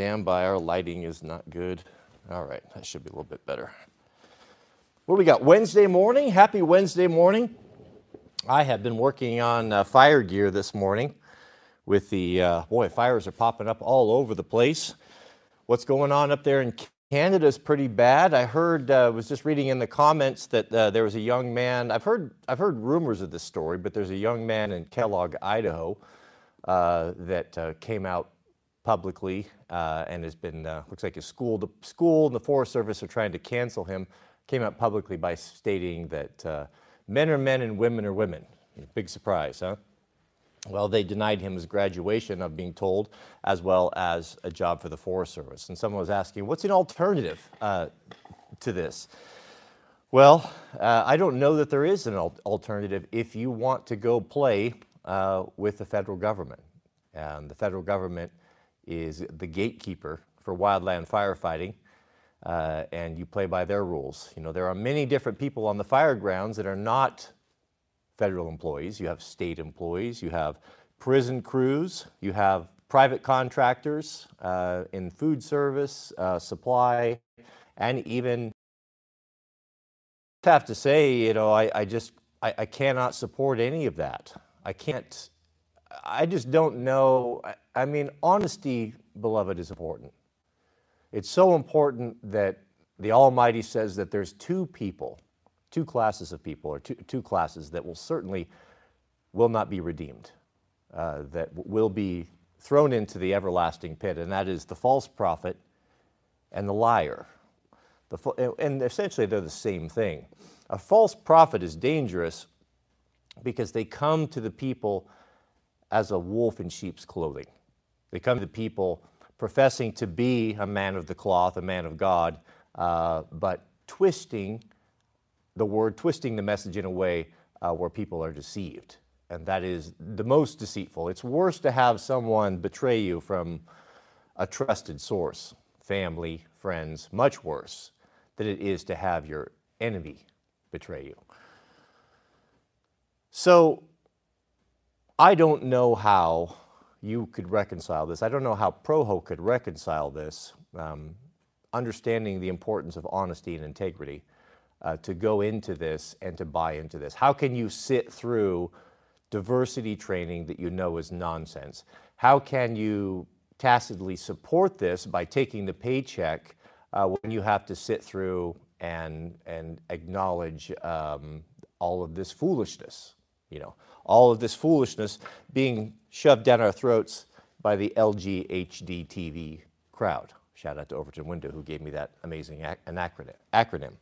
stand by. Our lighting is not good. All right, that should be a little bit better. What do we got? Wednesday morning. Happy Wednesday morning. I have been working on fire gear this morning with the, boy, fires are popping up all over the place. What's going on up there in Canada is pretty bad. I heard, was just reading in the comments that there was a young man. I've heard rumors of this story, but there's a young man in Kellogg, Idaho, that came out publicly and has been, looks like his school and the Forest Service are trying to cancel him. Came out publicly by stating that men are men and women are women. Big surprise, huh? Well, they denied him his graduation, I'm being told, as well as a job for the Forest Service. And someone was asking, what's an alternative to this? Well, I don't know that there is an alternative if you want to go play with the federal government. And the federal government is the gatekeeper for wildland firefighting, and you play by their rules. You know, there are many different people on the fire grounds that are not federal employees. You have state employees, you have prison crews, you have private contractors in food service, supply, and even, I have to say, you know, I cannot support any of that. I just don't know. I mean, honesty, beloved, is important. It's so important that the Almighty says that there's two classes of people, or two classes that will not be redeemed, that will be thrown into the everlasting pit, and that is the false prophet and the liar. And essentially they're the same thing. A false prophet is dangerous because they come to the people as a wolf in sheep's clothing. They come to people professing to be a man of the cloth, a man of God, but twisting the message in a way where people are deceived. And that is the most deceitful. It's worse to have someone betray you from a trusted source, family, friends, much worse than it is to have your enemy betray you. So I don't know how you could reconcile this. I don't know how Proho could reconcile this, understanding the importance of honesty and integrity, to go into this and to buy into this. How can you sit through diversity training that you know is nonsense? How can you tacitly support this by taking the paycheck when you have to sit through and acknowledge all of this foolishness? You know, all of this foolishness being shoved down our throats by the LGHD TV crowd. Shout out to Overton Window, who gave me that amazing acronym.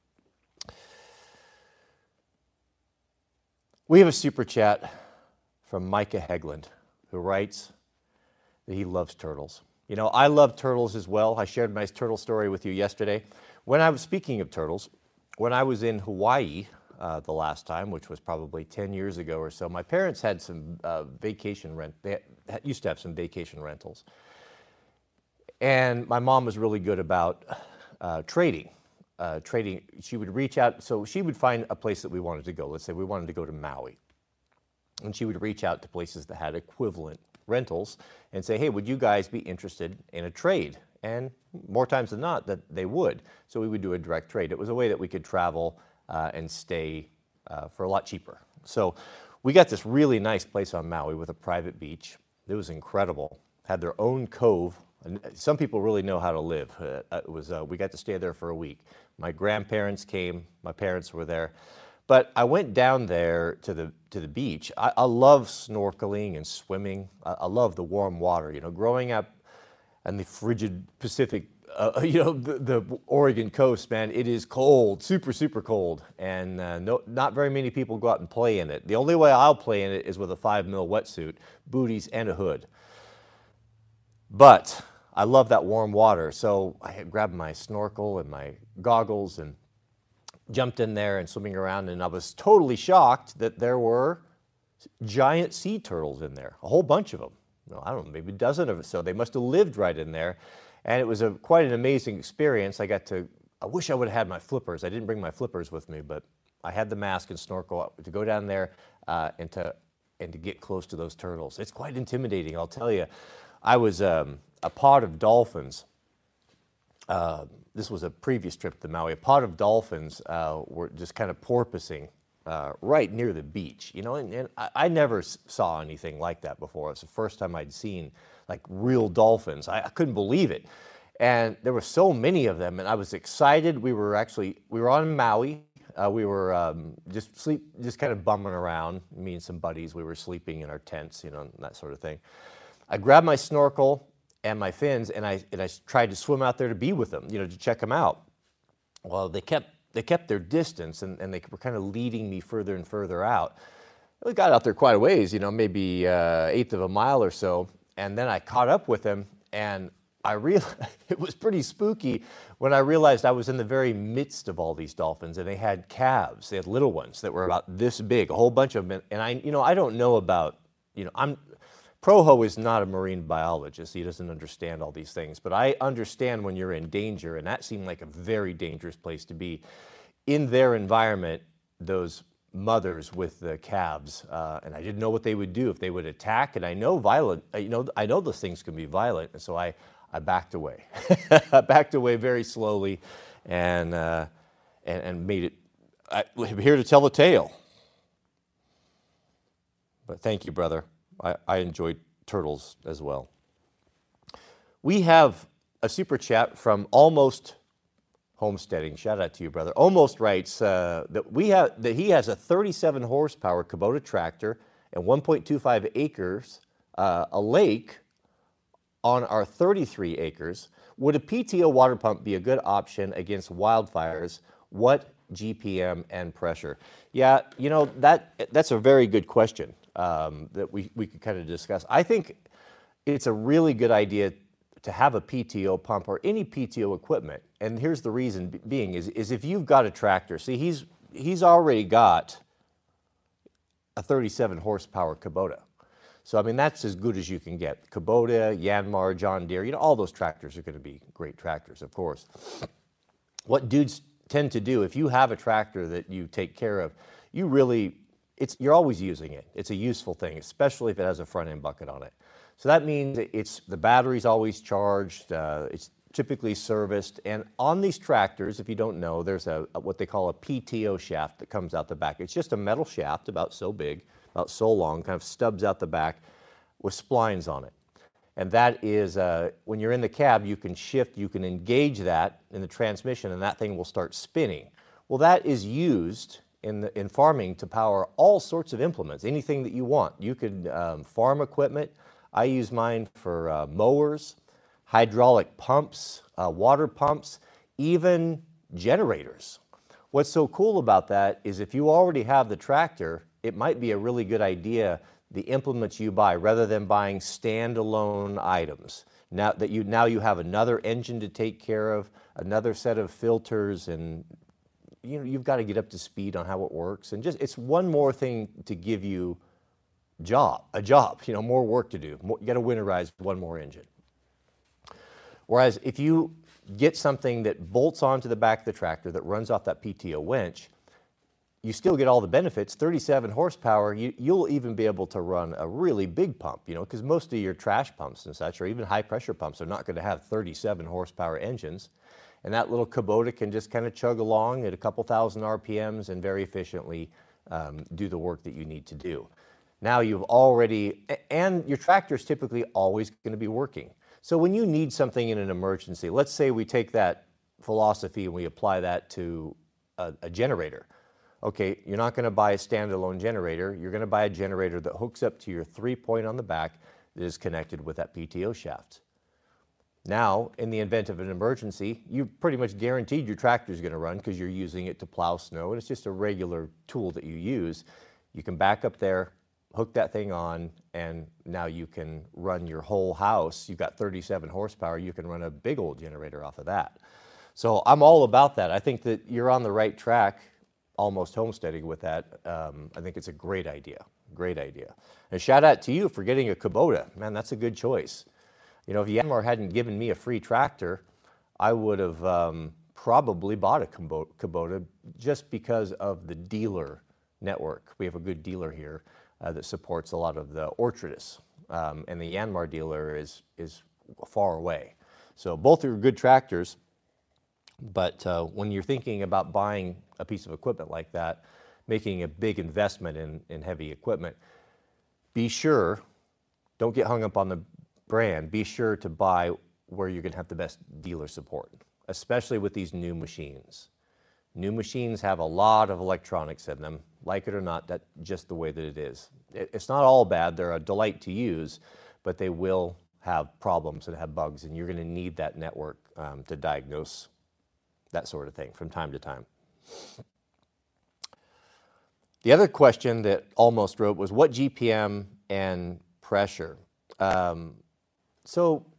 We have a super chat from Micah Hegland, who writes that he loves turtles. You know, I love turtles as well. I shared my turtle story with you yesterday. When I was speaking of turtles, when I was in Hawaii the last time, which was probably 10 years ago or so, my parents had some they used to have some vacation rentals. And my mom was really good about trading. She would reach out, so she would find a place that we wanted to go. Let's say we wanted to go to Maui. And she would reach out to places that had equivalent rentals and say, hey, would you guys be interested in a trade? And more times than not, that they would. So we would do a direct trade. It was a way that we could travel and stay for a lot cheaper. So we got this really nice place on Maui with a private beach. It was incredible. Had their own cove. And some people really know how to live. We got to stay there for a week. My grandparents came. My parents were there. But I went down there to the beach. I love snorkeling and swimming. I love the warm water. You know, growing up in the frigid Pacific, you know, the Oregon coast, man, it is cold, super, super cold. And not very many people go out and play in it. The only way I'll play in it is with a 5mm wetsuit, booties, and a hood. But I love that warm water, so I had grabbed my snorkel and my goggles and jumped in there and swimming around, and I was totally shocked that there were giant sea turtles in there, a whole bunch of them. No, I don't know, maybe a dozen of them. So they must have lived right in there, and it was quite an amazing experience. I wish I would have had my flippers. I didn't bring my flippers with me, but I had the mask and snorkel to go down there and to get close to those turtles. It's quite intimidating, I'll tell you. I was a pod of dolphins. This was a previous trip to Maui. A pod of dolphins were just kind of porpoising right near the beach, you know, and I never saw anything like that before. It was the first time I'd seen like real dolphins. I couldn't believe it. And there were so many of them, and I was excited. We were on Maui. We were just kind of bumming around, me and some buddies. We were sleeping in our tents, you know, and that sort of thing. I grabbed my snorkel and my fins, and I tried to swim out there to be with them, you know, to check them out. Well, they kept their distance, and they were kind of leading me further and further out. We got out there quite a ways, you know, maybe eighth of a mile or so, and then I caught up with them, and I realized it was pretty spooky when I realized I was in the very midst of all these dolphins, and they had calves. They had little ones that were about this big, a whole bunch of them. And I don't know about, Proho is not a marine biologist. He doesn't understand all these things, but I understand when you're in danger, and that seemed like a very dangerous place to be. In their environment, those mothers with the calves, and I didn't know what they would do, if they would attack. And I know those things can be violent, and so I backed away. I backed away very slowly, and made it. I'm here to tell the tale. But thank you, brother. I enjoyed turtles as well. We have a super chat from Almost Homesteading. Shout out to you, brother. Almost writes that he has a 37 horsepower Kubota tractor and 1.25 acres, a lake on our 33 acres. Would a PTO water pump be a good option against wildfires? What GPM and pressure? Yeah, that's a very good question that we could kind of discuss. I think it's a really good idea to have a PTO pump or any PTO equipment. And here's the reason being is if you've got a tractor, see, he's already got a 37 horsepower Kubota. So, I mean, that's as good as you can get. Kubota, Yanmar, John Deere, all those tractors are going to be great tractors, of course. What dudes tend to do, if you have a tractor that you take care of, you're always using it. It's a useful thing, especially if it has a front end bucket on it. So that means the battery's always charged, it's typically serviced, and on these tractors, if you don't know, there's what they call a PTO shaft that comes out the back. It's just a metal shaft about so big, about so long, kind of stubs out the back with splines on it. And that is, when you're in the cab, you can shift, you can engage that in the transmission, and that thing will start spinning. Well, that is used in farming to power all sorts of implements, anything that you want. You could farm equipment. I use mine for mowers, hydraulic pumps, water pumps, even generators. What's so cool about that is if you already have the tractor, it might be a really good idea, the implements you buy, rather than buying standalone items. Now you have another engine to take care of, another set of filters, and you've got to get up to speed on how it works. And it's one more thing to give you a job, more work to do. You got to winterize one more engine. Whereas if you get something that bolts onto the back of the tractor that runs off that PTO winch, you still get all the benefits. 37 horsepower, you'll even be able to run a really big pump, because most of your trash pumps and such, or even high pressure pumps, are not going to have 37 horsepower engines. And that little Kubota can just kind of chug along at a couple thousand RPMs and very efficiently do the work that you need to do. Now and your tractor is typically always going to be working. So when you need something in an emergency, let's say we take that philosophy and we apply that to a generator. Okay, you're not going to buy a standalone generator. You're going to buy a generator that hooks up to your 3-point on the back that is connected with that PTO shaft. Now, in the event of an emergency, you pretty much guaranteed your tractor is going to run because you're using it to plow snow, and it's just a regular tool that you use. You can back up there, hook that thing on, and now you can run your whole house. You've got 37 horsepower. You can run a big old generator off of that. So I'm all about that. I think that you're on the right track, Almost Homesteading, with that. I think it's a great idea. Great idea. And shout out to you for getting a Kubota. Man, that's a good choice. If Yanmar hadn't given me a free tractor, I would have probably bought a Kubota just because of the dealer network. We have a good dealer here that supports a lot of the orchardists and the Yanmar dealer is far away. So both are good tractors, but when you're thinking about buying a piece of equipment like that, making a big investment in heavy equipment, be sure, don't get hung up on the brand, be sure to buy where you're going to have the best dealer support, especially with these new machines. New machines have a lot of electronics in them. Like it or not, that's just the way that it is. It's not all bad. They're a delight to use, but they will have problems and have bugs, and you're going to need that network to diagnose that sort of thing from time to time. The other question that Almost wrote was, what GPM and pressure? So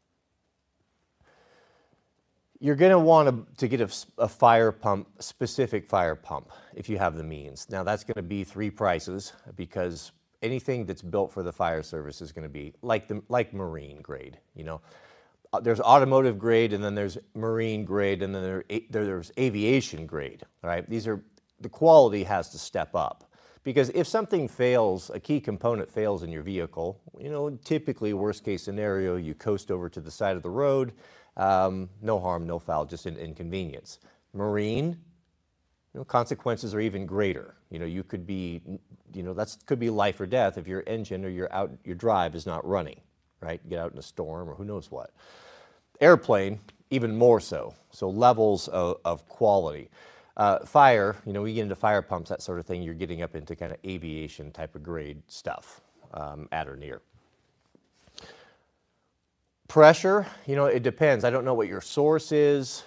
you're going to want to get a fire pump, specific fire pump, if you have the means. Now that's going to be three prices, because anything that's built for the fire service is going to be like marine grade. You know, there's automotive grade, and then there's marine grade, and then there's aviation grade. Right? The quality has to step up, because if something fails, a key component fails in your vehicle, you know, typically worst case scenario, you coast over to the side of the road. No harm, no foul, just an inconvenience. Marine, you know, consequences are even greater. You know, you could be, you know, that could be life or death if your engine or your drive is not running, right? Get out in a storm or who knows what. Airplane, even more so. So levels of quality. Fire, you know, we get into fire pumps, that sort of thing, you're getting up into kind of aviation type of grade stuff, at or near. Pressure, you know, it depends. I don't know what your source is,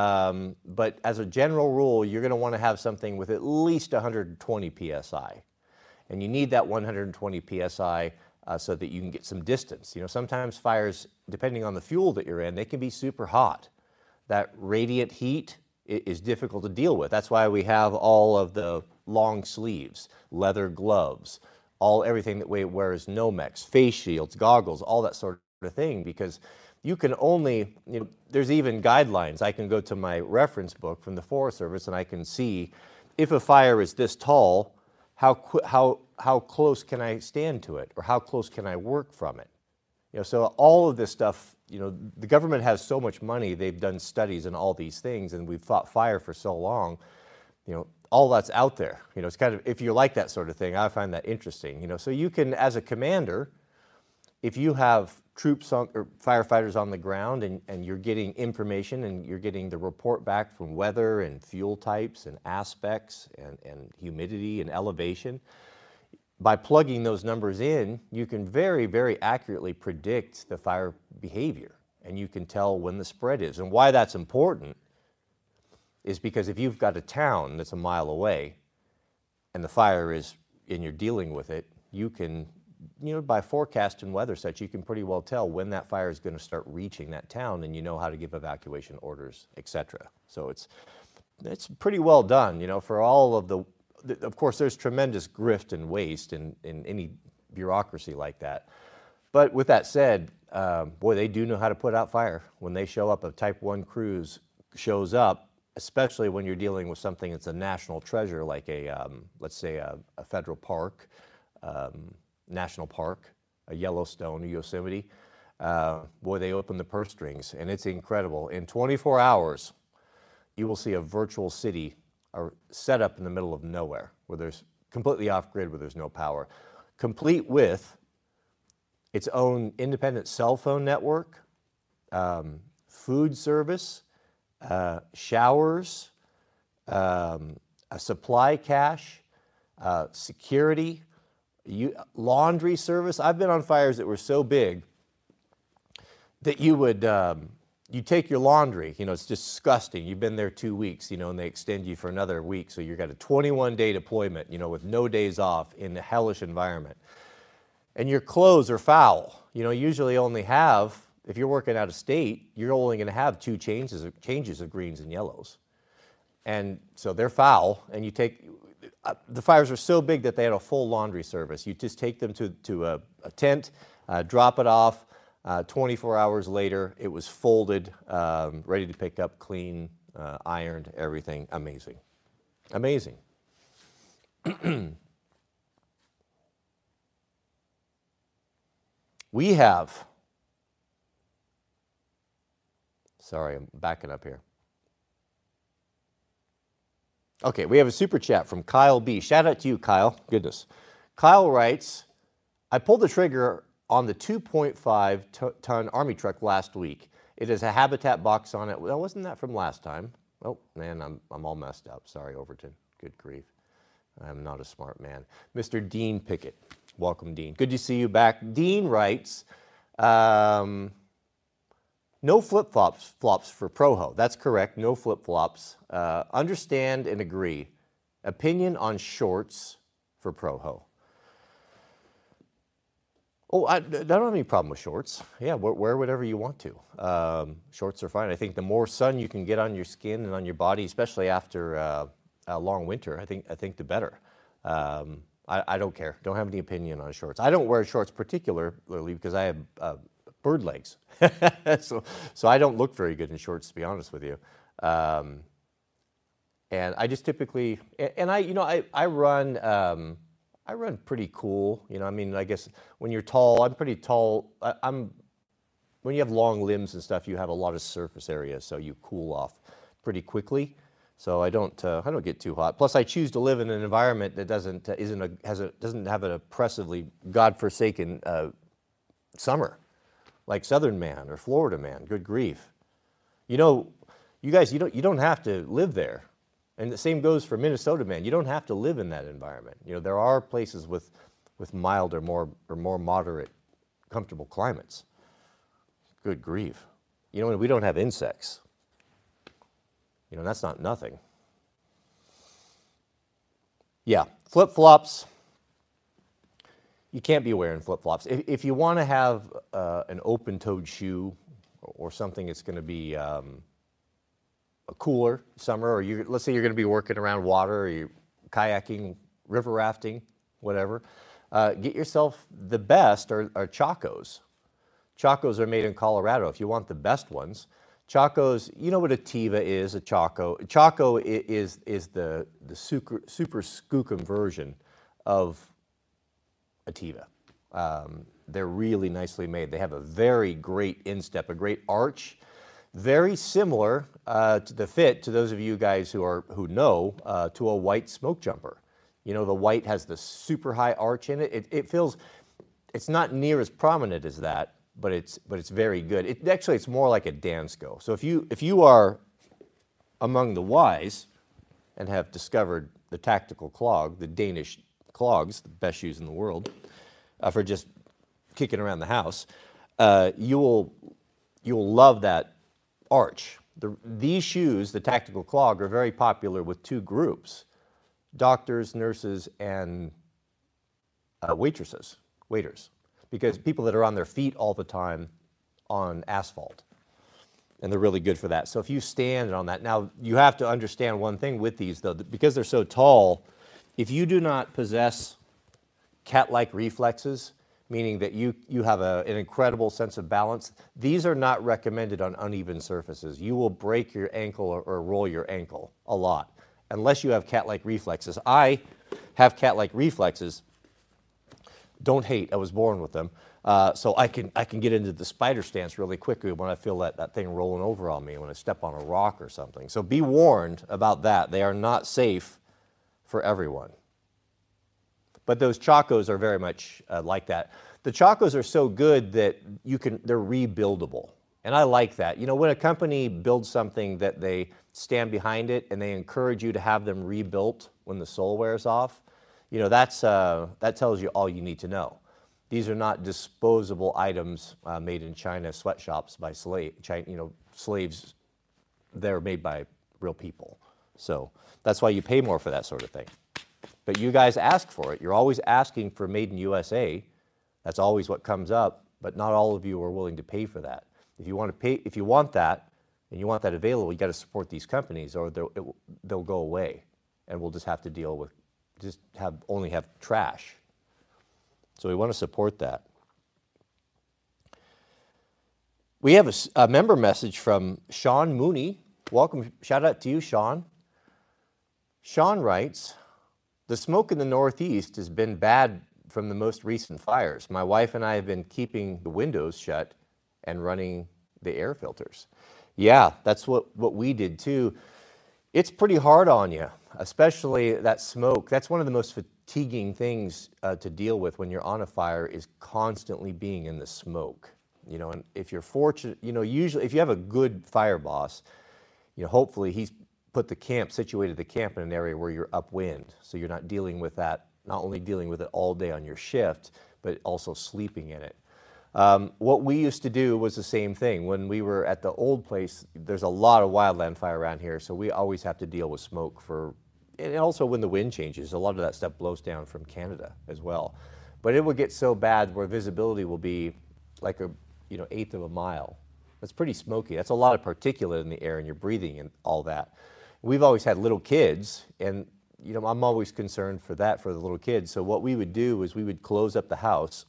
but as a general rule, you're going to want to have something with at least 120 PSI. And you need that 120 PSI so that you can get some distance. You know, sometimes fires, depending on the fuel that you're in, they can be super hot. That radiant heat is difficult to deal with. That's why we have all of the long sleeves, leather gloves, everything that we wear is Nomex, face shields, goggles, all that sort of thing, because you can only, you know, there's even guidelines. I can go to my reference book from the Forest Service and I can see if a fire is this tall, how close can I stand to it, or how close can I work from it? You know, so all of this stuff, you know, the government has so much money, they've done studies on all these things, and we've fought fire for so long, you know, all that's out there. You know, it's kind of, if you like that sort of thing, I find that interesting, you know. So you can, as a commander, if you have troops or firefighters on the ground and you're getting information and you're getting the report back from weather and fuel types and aspects and humidity and elevation, by plugging those numbers in, you can very, very accurately predict the fire behavior, and you can tell when the spread is. And why that's important is because if you've got a town that's a mile away and the fire is, and you're dealing with it, you can, you know, by forecast and weather such, you can pretty well tell when that fire is going to start reaching that town, and you know how to give evacuation orders, etc. So it's pretty well done, you know, for all of of course, there's tremendous grift and waste in any bureaucracy like that. But with that said, boy, they do know how to put out fire. When they show up, a Type 1 cruise shows up, especially when you're dealing with something that's a national treasure, like let's say a federal park, national park, a Yellowstone, a Yosemite, boy, they open the purse strings, and it's incredible. In 24 hours, you will see a virtual city set up in the middle of nowhere, where there's completely off-grid, where there's no power, complete with its own independent cell phone network, food service, showers, a supply cache, security, laundry service. I've been on fires that were so big that you would you take your laundry, you know, it's disgusting. You've been there 2 weeks, you know, and they extend you for another week. So you've got a 21-day deployment, you know, with no days off in a hellish environment. And your clothes are foul. You know, usually only have, if you're working out of state, you're only going to have two changes of greens and yellows. And so they're foul, and you take, the fires are so big that they had a full laundry service. You just take them to a tent, drop it off. 24 hours later, it was folded, ready to pick up, clean, ironed, everything. Amazing. Amazing. We have, sorry, I'm backing up here. Okay, we have a super chat from Kyle B. Shout out to you, Kyle. Goodness. Kyle writes, I pulled the trigger on the 2.5-ton Army truck last week. It has a habitat box on it. Well, wasn't that from last time? Oh, man, I'm all messed up. Sorry, Overton. Good grief. I'm not a smart man. Mr. Dean Pickett. Welcome, Dean. Good to see you back. Dean writes, no flip-flops for Proho. That's correct, no flip-flops. Understand and agree. Opinion on shorts for Proho. Oh, I don't have any problem with shorts. Yeah, wear whatever you want to. Shorts are fine. I think the more sun you can get on your skin and on your body, especially after a long winter, I think the better. I don't care. Don't have any opinion on shorts. I don't wear shorts particularly because I have bird legs. so I don't look very good in shorts, to be honest with you. And I just typically, and I run pretty cool. I mean, I guess when you're tall, I'm pretty tall. When you have long limbs and stuff, you have a lot of surface area, so you cool off pretty quickly. So I don't get too hot. Plus, I choose to live in an environment that doesn't have an oppressively godforsaken summer, like Southern man or Florida man. Good grief! You guys, you don't have to live there. And the same goes for Minnesota man. You don't have to live in that environment. There are places with mild or more moderate, comfortable climates. Good grief! We don't have insects. That's not nothing. Yeah, flip-flops. You can't be wearing flip-flops. If you want to have an open-toed shoe or something that's going to be a cooler summer, or let's say you're going to be working around water, or you're kayaking, river rafting, whatever, get yourself the best are Chacos. Chacos are made in Colorado if you want the best ones. Chacos, you know what a Teva is, a Chaco. Chaco is the super skookum version of a Teva. They're really nicely made. They have a very great instep, a great arch, very similar to the fit, to those of you guys who know, to a white smoke jumper. The white has the super high arch in it. It feels, it's not near as prominent as that, but it's very good. It's more like a Dansko. So if you are among the wise and have discovered the tactical clog, the Danish clogs, the best shoes in the world, for just kicking around the house, you will love that arch. These shoes, the tactical clog, are very popular with two groups: doctors, nurses, and waiters. Because people that are on their feet all the time on asphalt. And they're really good for that. So if you stand on that, now you have to understand one thing with these though, because they're so tall, if you do not possess cat-like reflexes, meaning that you have an incredible sense of balance, these are not recommended on uneven surfaces. You will break your ankle or roll your ankle a lot, unless you have cat-like reflexes. I have cat-like reflexes. Don't hate, I was born with them. So I can get into the spider stance really quickly when I feel that thing rolling over on me when I step on a rock or something. So be warned about that. They are not safe for everyone. But those Chacos are very much like that. The Chacos are so good that they're rebuildable. And I like that. When a company builds something that they stand behind it and they encourage you to have them rebuilt when the sole wears off, that tells you all you need to know. These are not disposable items made in China sweatshops by slaves. They're made by real people. So that's why you pay more for that sort of thing. But you guys ask for it. You're always asking for made in USA. That's always what comes up, but not all of you are willing to pay for that. If you want that, and you want that available, you got to support these companies, or they'll go away, and we'll just have to deal with only have trash. So we want to support that. We have a member message from Sean Mooney. Welcome, shout out to you, Sean. Sean writes, the smoke in the Northeast has been bad from the most recent fires. My wife and I have been keeping the windows shut and running the air filters. Yeah, that's what we did too. It's pretty hard on you, especially that smoke. That's one of the most fatiguing things to deal with when you're on a fire, is constantly being in the smoke. You know, and if you're fortunate, you know, usually if you have a good fire boss, you know, hopefully he's situated the camp in an area where you're upwind, so you're not dealing with that, not only dealing with it all day on your shift, but also sleeping in it. What we used to do was the same thing. When we were at the old place, there's a lot of wildland fire around here, so we always have to deal with smoke and also when the wind changes, a lot of that stuff blows down from Canada as well. But it will get so bad where visibility will be like a, you know, eighth of a mile. That's pretty smoky. That's a lot of particulate in the air, and you're breathing and all that. We've always had little kids, and you know, I'm always concerned for that, for the little kids. So what we would do is we would close up the house.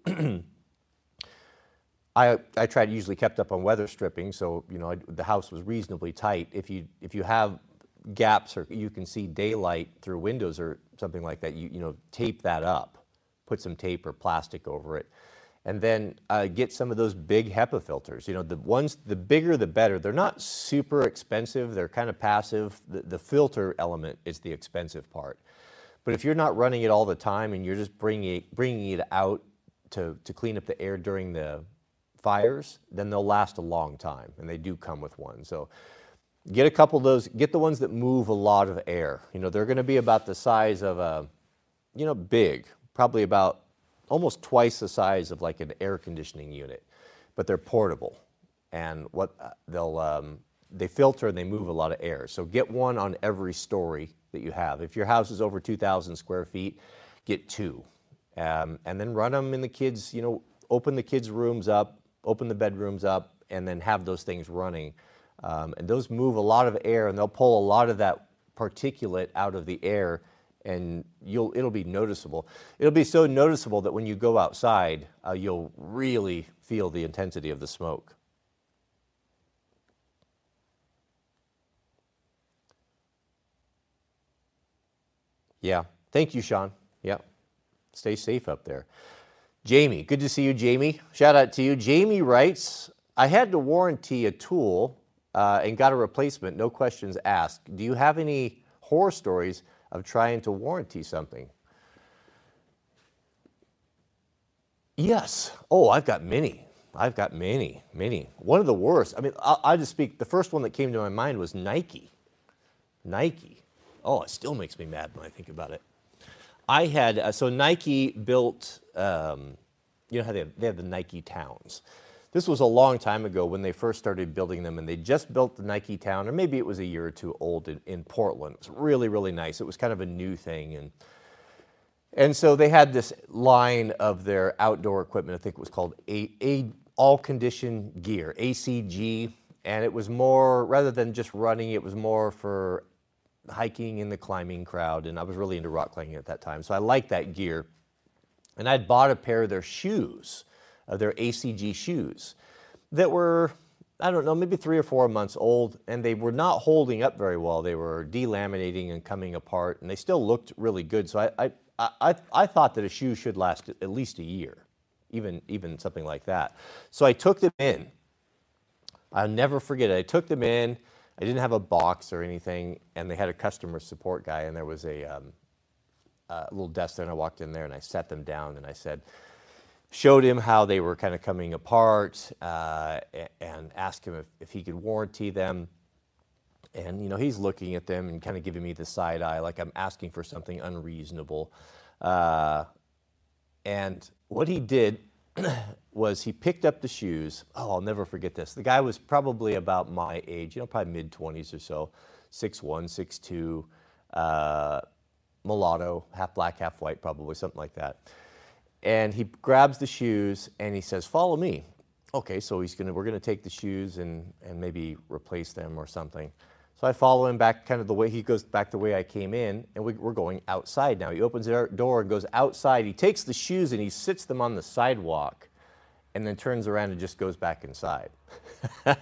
I usually kept up on weather stripping, so you know the house was reasonably tight. If you have gaps or you can see daylight through windows or something like that, you know, tape that up, put some tape or plastic over it, and then get some of those big HEPA filters. You know, the bigger the better. They're not super expensive. They're kind of passive. The filter element is the expensive part. But if you're not running it all the time and you're just bringing it out to clean up the air during the fires, then they'll last a long time, and they do come with one. So get a couple of those. Get the ones that move a lot of air. You know, they're going to be about the size of a, you know, big, probably about almost twice the size of like an air conditioning unit, but they're portable, and they filter and they move a lot of air. So get one on every story that you have. If your house is over 2,000 square feet, get two, and then run them in the kids. You know, open the kids' rooms up, open the bedrooms up, and then have those things running. And those move a lot of air, and they'll pull a lot of that particulate out of the air, and it'll be noticeable. It'll be so noticeable that when you go outside, you'll really feel the intensity of the smoke. Yeah. Thank you, Sean. Yeah. Stay safe up there. Jamie, good to see you, Jamie. Shout out to you. Jamie writes, I had to warranty a tool and got a replacement, no questions asked. Do you have any horror stories of trying to warranty something? Yes. Oh, I've got many. Many. One of the worst. I mean, I'll just speak. The first one that came to my mind was Nike. Nike. Oh, it still makes me mad when I think about it. I had, so Nike built, you know how they have the Nike towns. This was a long time ago when they first started building them, and they just built the Nike town, or maybe it was a year or two old in Portland. It was really, really nice. It was kind of a new thing. And so they had this line of their outdoor equipment. I think it was called All Condition Gear, ACG. And it was more, rather than just running, it was more for hiking and the climbing crowd. And I was really into rock climbing at that time. So I liked that gear. And I'd bought a pair of their shoes, their ACG shoes, that were, I don't know, maybe 3 or 4 months old, and they were not holding up very well. They were delaminating and coming apart, and they still looked really good. So I thought that a shoe should last at least a year, even something like that. So I took them in. I'll never forget it. I took them in. I didn't have a box or anything, and they had a customer support guy, and there was a little desk there, and I walked in there, and I sat them down, and I showed him how they were kind of coming apart, and asked him if he could warranty them. And, you know, he's looking at them and kind of giving me the side eye, like I'm asking for something unreasonable. And what he did was he picked up the shoes. Oh, I'll never forget this. The guy was probably about my age, you know, probably mid-20s or so, 6'1", 6'2", mulatto, half black, half white, probably, something like that. And he grabs the shoes and he says, "Follow me." Okay, so we're gonna take the shoes and maybe replace them or something. So I follow him back, kind of the way he goes back the way I came in, and we're going outside now. He opens the door and goes outside. He takes the shoes and he sits them on the sidewalk, and then turns around and just goes back inside.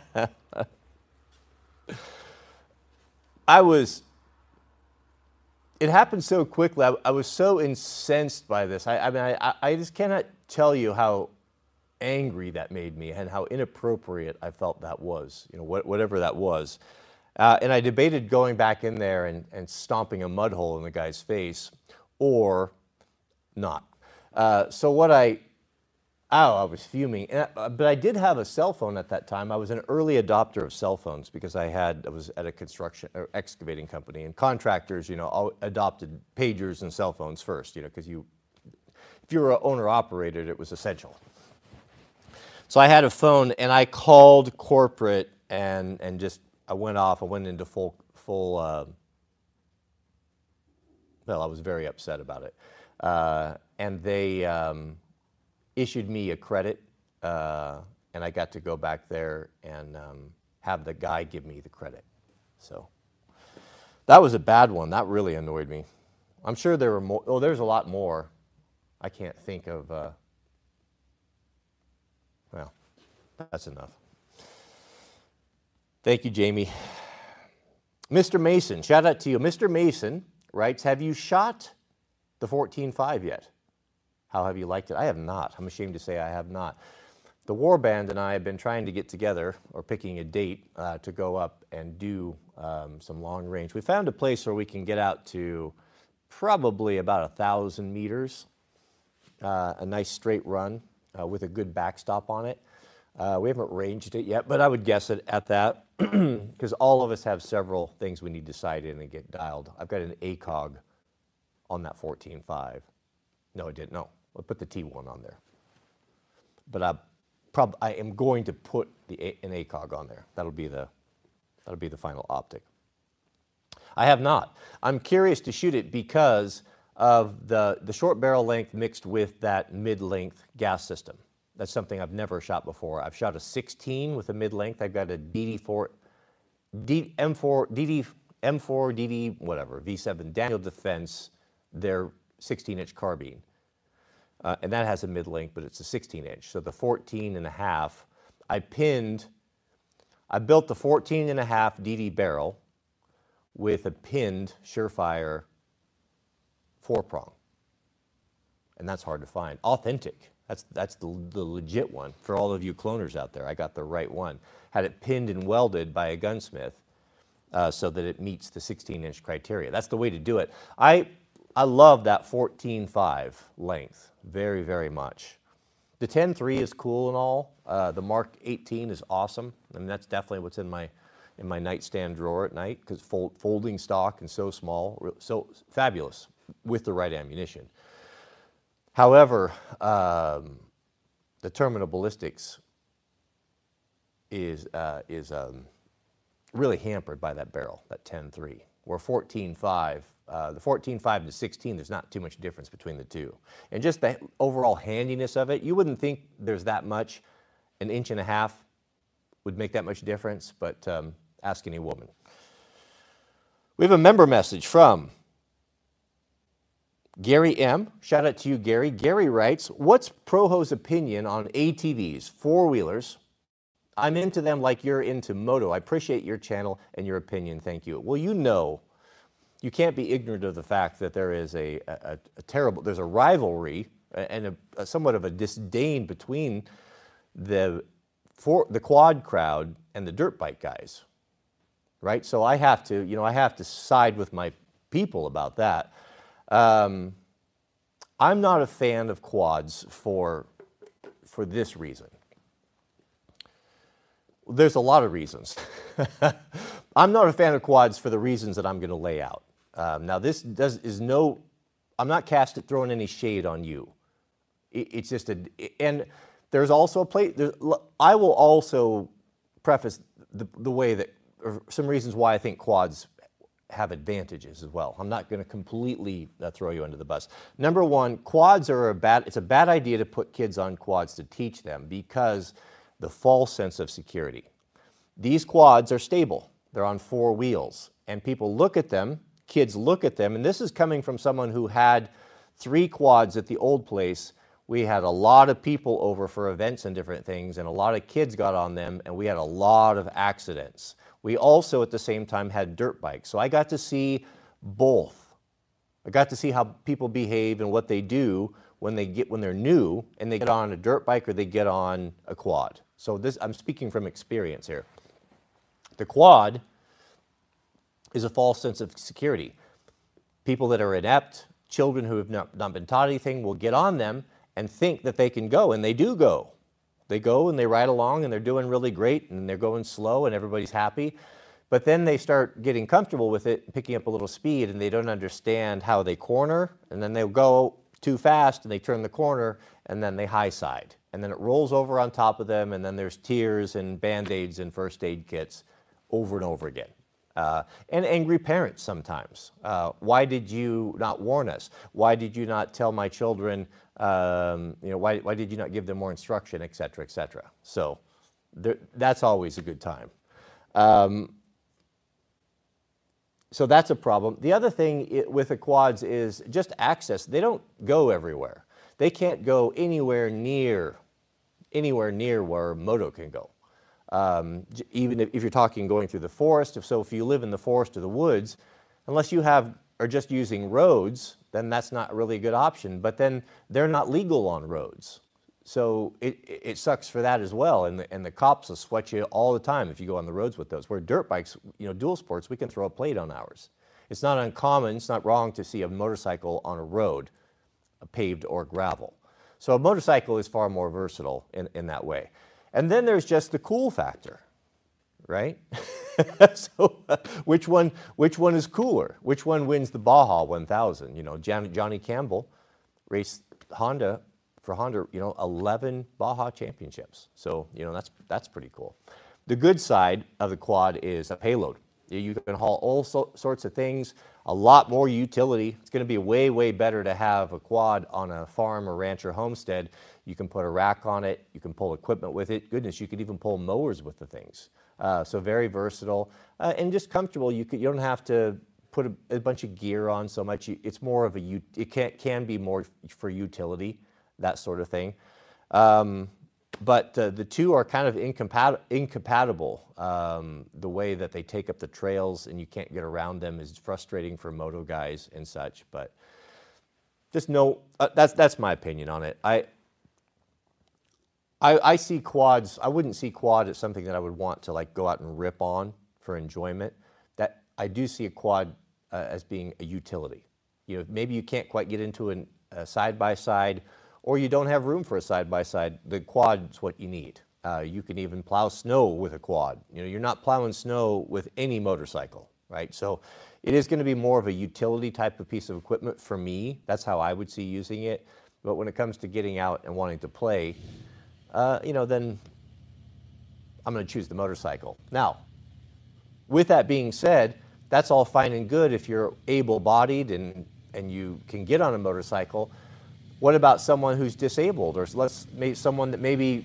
I was It happened so quickly. I was so incensed by this. I mean, I just cannot tell you how angry that made me and how inappropriate I felt that was, you know, whatever that was. And I debated going back in there and stomping a mud hole in the guy's face or not. So what I was fuming. But I did have a cell phone at that time. I was an early adopter of cell phones because I was at a construction or excavating company, and contractors, you know, adopted pagers and cell phones first, you know, because if you were an owner-operated, it was essential. So I had a phone, and I called corporate and just, I went into full well, I was very upset about it. And they issued me a credit, and I got to go back there and have the guy give me the credit. So that was a bad one. That really annoyed me. I'm sure there were more. Oh, there's a lot more. I can't think of, well, that's enough. Thank you, Jamie. Mr. Mason, shout out to you. Mr. Mason writes, have you shot the 14.5 yet? How have you liked it? I have not. I'm ashamed to say I have not. The Warband and I have been trying to get together, or picking a date, to go up and do some long range. We found a place where we can get out to probably about 1,000 meters, a nice straight run with a good backstop on it. We haven't ranged it yet, but I would guess it at that because all of us have several things we need to sight in and get dialed. I've got an ACOG on that 14.5. No, I didn't. No, I'll put the T1 on there. But I am going to put an ACOG on there. That'll be the final optic. I have not. I'm curious to shoot it because of the short barrel length mixed with that mid-length gas system. That's something I've never shot before. I've shot a 16 with a mid-length. I've got a M4, DD, whatever, V7 Daniel Defense, their 16-inch carbine. And that has a mid-length, but it's a 16-inch. So the 14.5, I built the 14.5 DD barrel with a pinned Surefire 4-prong. And that's hard to find. Authentic. That's the legit one. For all of you cloners out there, I got the right one. Had it pinned and welded by a gunsmith so that it meets the 16-inch criteria. That's the way to do it. I love that 14.5 length very, very much. The 10.3 is cool and all. The Mark 18 is awesome. I mean, that's definitely what's in my nightstand drawer at night because folding stock and so small, so fabulous with the right ammunition. However, the terminal ballistics is really hampered by that barrel, that 10.3. Where 14.5, the 14.5 to 16, there's not too much difference between the two. And just the overall handiness of it, you wouldn't think there's that much. An inch and a half would make that much difference, but ask any woman. We have a member message from Gary M. Shout out to you, Gary. Gary writes, what's Proho's opinion on ATVs, four-wheelers? I'm into them like you're into moto. I appreciate your channel and your opinion. Thank you. Well, you know, you can't be ignorant of the fact that there is there's a rivalry and somewhat of a disdain between the quad crowd and the dirt bike guys, right? So I have to side with my people about that. I'm not a fan of quads for this reason. There's a lot of reasons. I'm not a fan of quads for the reasons that I'm going to lay out. Now, I'm not throwing any shade on you. It's just and there's also a place. I will also preface the way that, or some reasons why I think quads have advantages as well. I'm not going to completely throw you under the bus. Number one, quads it's a bad idea to put kids on quads to teach them because the false sense of security. These quads are stable. They're on four wheels. And people look at them, kids look at them, and this is coming from someone who had 3 quads at the old place. We had a lot of people over for events and different things, and a lot of kids got on them, and we had a lot of accidents. We also, at the same time, had dirt bikes. So I got to see both I got to see how people behave and what they do when they're new and they get on a dirt bike or they get on a quad. So I'm speaking from experience here. The quad is a false sense of security. People that are inept, children who have not been taught anything will get on them and think that they can go, and they do go. They go and they ride along and they're doing really great and they're going slow and everybody's happy. But then they start getting comfortable with it, picking up a little speed, and they don't understand how they corner, and then they'll go too fast and they turn the corner and then they high side. And then it rolls over on top of them, and then there's tears and Band-Aids and first aid kits over and over again. And angry parents sometimes. Why did you not warn us? Why did you not tell my children, why did you not give them more instruction, et cetera, et cetera. So that's always a good time. So that's a problem. The other thing with the quads is just access. They don't go everywhere. They can't go anywhere near where moto can go. Even if you're talking going through the forest, if you live in the forest or the woods, unless you are just using roads, then that's not really a good option. But then they're not legal on roads. So it sucks for that as well, and the cops will sweat you all the time if you go on the roads with those. Where dirt bikes, dual sports, we can throw a plate on ours. It's not uncommon, it's not wrong to see a motorcycle on a road, paved or gravel. So a motorcycle is far more versatile in that way. And then there's just the cool factor, right? So which one is cooler? Which one wins the Baja 1000? Johnny Campbell raced Honda. For Honda, 11 Baja championships. So, that's pretty cool. The good side of the quad is a payload. You can haul all sorts of things, a lot more utility. It's going to be way, way better to have a quad on a farm or ranch or homestead. You can put a rack on it. You can pull equipment with it. Goodness, you could even pull mowers with the things. So very versatile and just comfortable. You don't have to put a bunch of gear on so much. It's more of it can be more for utility, that sort of thing. But the two are kind of incompatible. The way that they take up the trails and you can't get around them is frustrating for moto guys and such. But just that's my opinion on it. I see quads. I wouldn't see quad as something that I would want to go out and rip on for enjoyment. That I do see a quad as being a utility. Maybe you can't quite get into a side-by-side, or you don't have room for a side-by-side. The quad's what you need. You can even plow snow with a quad. You're not plowing snow with any motorcycle, right? So it is going to be more of a utility type of piece of equipment for me. That's how I would see using it. But when it comes to getting out and wanting to play, then I'm going to choose the motorcycle. Now, with that being said, that's all fine and good if you're able-bodied and you can get on a motorcycle. What about someone who's disabled, or someone that maybe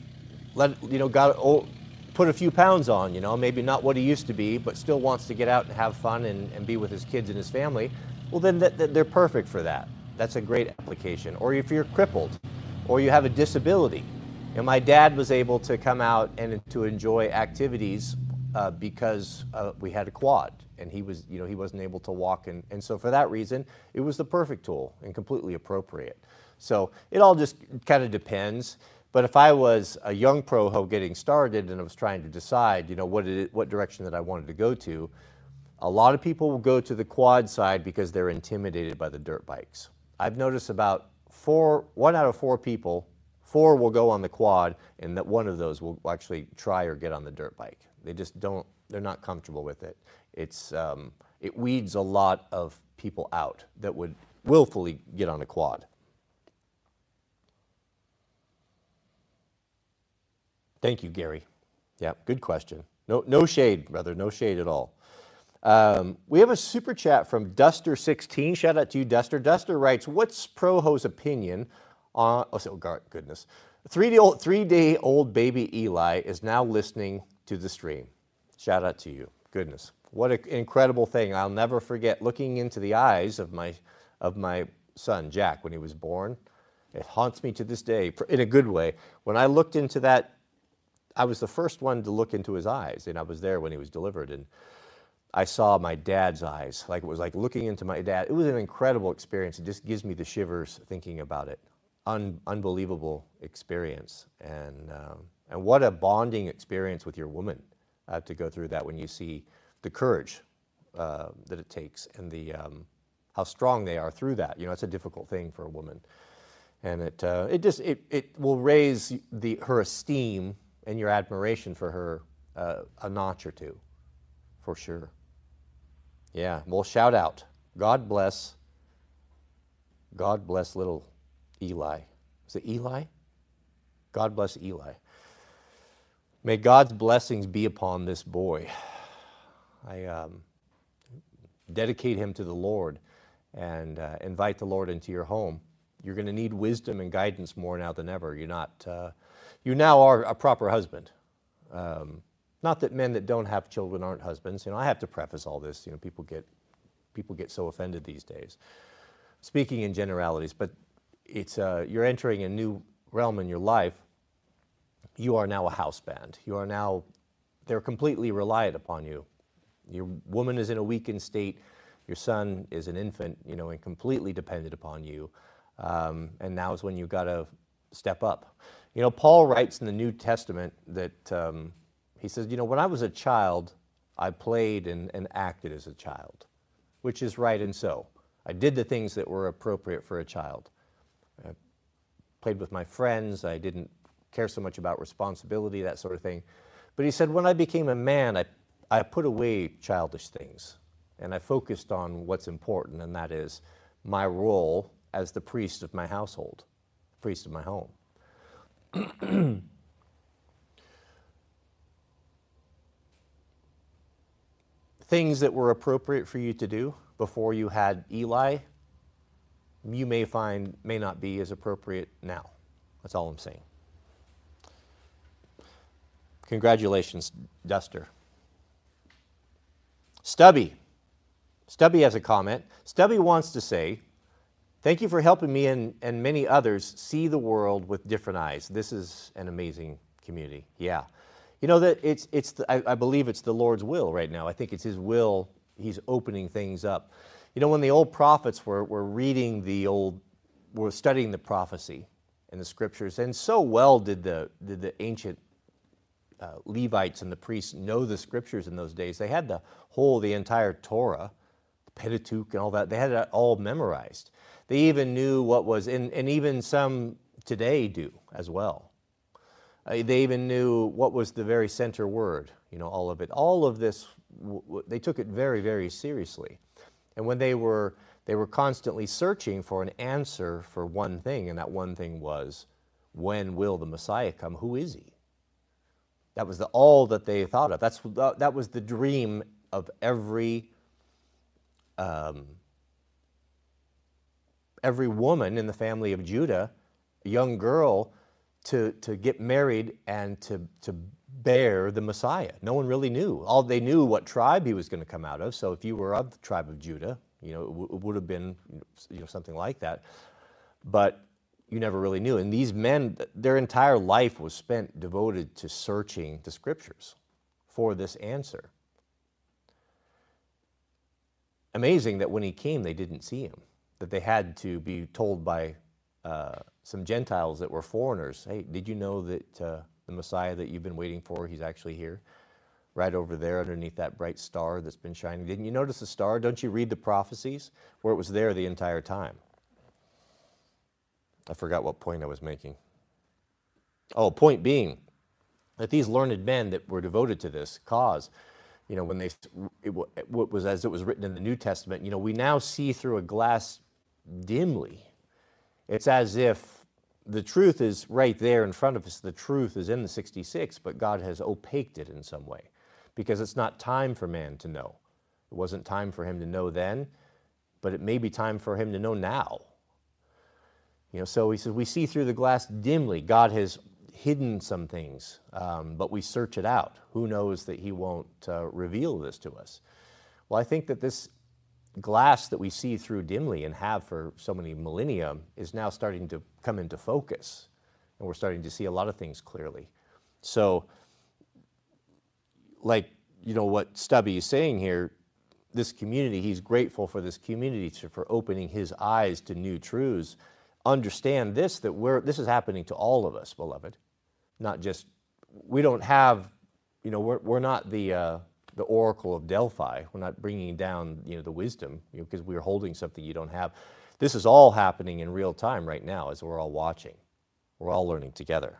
put a few pounds on, maybe not what he used to be, but still wants to get out and have fun and be with his kids and his family? Well, then they're perfect for that. That's a great application. Or if you're crippled, or you have a disability. My dad was able to come out and to enjoy activities because we had a quad, and he wasn't able to walk, and so for that reason, it was the perfect tool and completely appropriate. So it all just kind of depends. But if I was a young pro getting started and I was trying to decide, what direction that I wanted to go to, a lot of people will go to the quad side because they're intimidated by the dirt bikes. I've noticed about 1 out of 4 people, 4 will go on the quad, and that one of those will actually try or get on the dirt bike. They just don't. They're not comfortable with it. It weeds a lot of people out that would willfully get on a quad. Thank you, Gary. Yeah, good question. No shade, brother. No shade at all. We have a super chat from Duster16. Shout out to you, Duster. Duster writes, "What's Proho's opinion on?" Goodness. 3-day-old baby Eli is now listening to the stream. Shout out to you. Goodness, what an incredible thing! I'll never forget looking into the eyes of my son Jack when he was born. It haunts me to this day in a good way. When I looked into that. I was the first one to look into his eyes, and I was there when he was delivered. And I saw my dad's eyes. Like, it was like looking into my dad. It was an incredible experience. It just gives me the shivers thinking about it. Unbelievable experience. And what a bonding experience with your woman to go through that when you see the courage that it takes and the how strong they are through that. You know, it's a difficult thing for a woman. And it will raise her esteem and your admiration for her a notch or two, for sure. Yeah, well, shout out. God bless little Eli. Is it Eli? God bless Eli. May God's blessings be upon this boy. I dedicate him to the Lord and invite the Lord into your home. You're going to need wisdom and guidance more now than ever. You now are a proper husband. Not that men that don't have children aren't husbands. You know, I have to preface all this. You know, people get so offended these days. Speaking in generalities, but it's you're entering a new realm in your life. You are now a house band. They're completely reliant upon you. Your woman is in a weakened state. Your son is an infant, you know, and completely dependent upon you. And now is when you've got to step up. You know, Paul writes in the New Testament that he says, you know, when I was a child, I played and acted as a child, which is right and so. I did the things that were appropriate for a child. I played with my friends. I didn't care so much about responsibility, that sort of thing. But he said, when I became a man, I put away childish things, and I focused on what's important, and that is my role as the priest of my household, priest of my home. Things that were appropriate for you to do before you had Eli, you may find may not be as appropriate now. That's all I'm saying. Congratulations, Duster. Stubby has a comment. Stubby wants to say, thank you for helping me and many others see the world with different eyes. This is an amazing community. Yeah. You know, that I believe it's the Lord's will right now. I think it's His will. He's opening things up. You know, when the old prophets were reading were studying the prophecy in the scriptures, and so well did the ancient Levites and the priests know the scriptures in those days. They had the entire Torah, the Pentateuch and all that. They had it all memorized. They even knew what was, and even some today do as well. They even knew what was the very center word, you know, all of it. All of this, they took it very, very seriously. And when they were constantly searching for an answer for one thing, and that one thing was, when will the Messiah come? Who is He? That was all that they thought of. That was the dream of every woman in the family of Judah, a young girl, to get married and to bear the Messiah. No one really knew. All they knew what tribe He was going to come out of. So if you were of the tribe of Judah, you know, it would have been, you know, something like that. But you never really knew. And these men, their entire life was spent devoted to searching the scriptures for this answer. Amazing that when He came, they didn't see Him, that they had to be told by some Gentiles that were foreigners, hey, did you know that the Messiah that you've been waiting for, He's actually here, right over there underneath that bright star that's been shining? Didn't you notice the star? Don't you read the prophecies where it was there the entire time? I forgot what point I was making. Oh, point being that these learned men that were devoted to this cause, you know, when it was as it was written in the New Testament, you know, we now see through a glass dimly. It's as if the truth is right there in front of us. The truth is in the 66, but God has opaqued it in some way because it's not time for man to know. It wasn't time for him to know then, but it may be time for him to know now. You know, so he says, we see through the glass dimly. God has hidden some things, but we search it out. Who knows that He won't reveal this to us? Well, I think that this glass that we see through dimly and have for so many millennia is now starting to come into focus, and we're starting to see a lot of things clearly. So, like, you know, what Stubby is saying here, this community, he's grateful for this community for opening his eyes to new truths. Understand this, that this is happening to all of us, beloved. Not just, we don't have, we're not the oracle of Delphi. We're not bringing down, the wisdom, because we're holding something you don't have. This is all happening in real time right now as we're all watching. We're all learning together.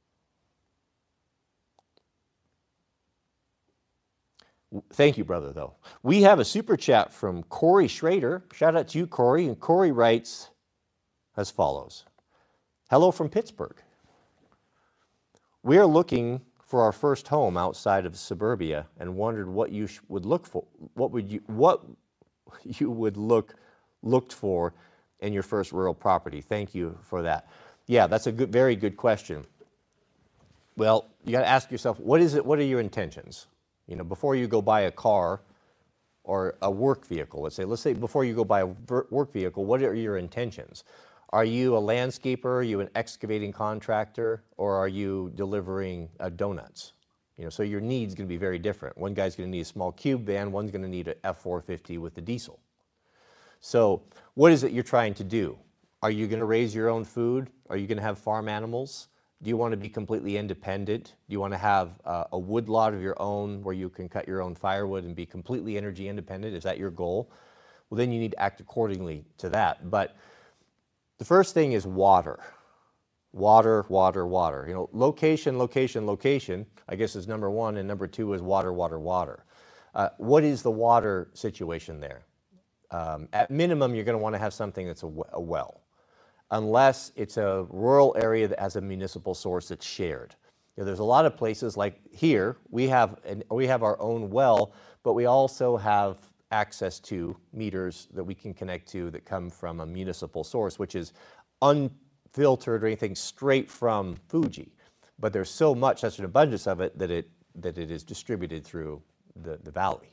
Thank you, brother, though. We have a super chat from Corey Schrader. Shout out to you, Corey. And Corey writes as follows. Hello from Pittsburgh. We are looking for our first home outside of suburbia and wondered what you would look for. What you would looked for in your first rural property. Thank you for that. Yeah, that's a very good question. Well, you got to ask yourself, what are your intentions? Before you go buy a car or a work vehicle, let's say before you go buy a work vehicle, what are your intentions? Are you a landscaper? Are you an excavating contractor? Or are you delivering donuts? So your need's going to be very different. One guy's going to need a small cube van. One's going to need an F450 with the diesel. So what is it you're trying to do? Are you going to raise your own food? Are you going to have farm animals? Do you want to be completely independent? Do you want to have a wood lot of your own where you can cut your own firewood and be completely energy independent? Is that your goal? Well, then you need to act accordingly to that. But the first thing is water. Water, water, water. Location, location, location, I guess is number one, and number two is water, water, water. What is the water situation there? At minimum, you're going to want to have something that's a well, unless it's a rural area that has a municipal source that's shared. There's a lot of places like here, we have our own well, but we also have access to meters that we can connect to that come from a municipal source, which is unfiltered or anything, straight from Fuji. But there's such an abundance of it that it is distributed through the valley.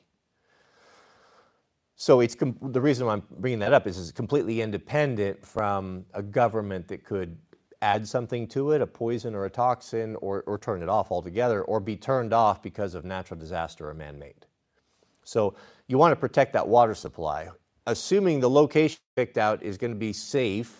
So the reason why I'm bringing that up is it's completely independent from a government that could add something to it, a poison or a toxin, or turn it off altogether, or be turned off because of natural disaster or man-made. So you want to protect that water supply. Assuming the location picked out is going to be safe,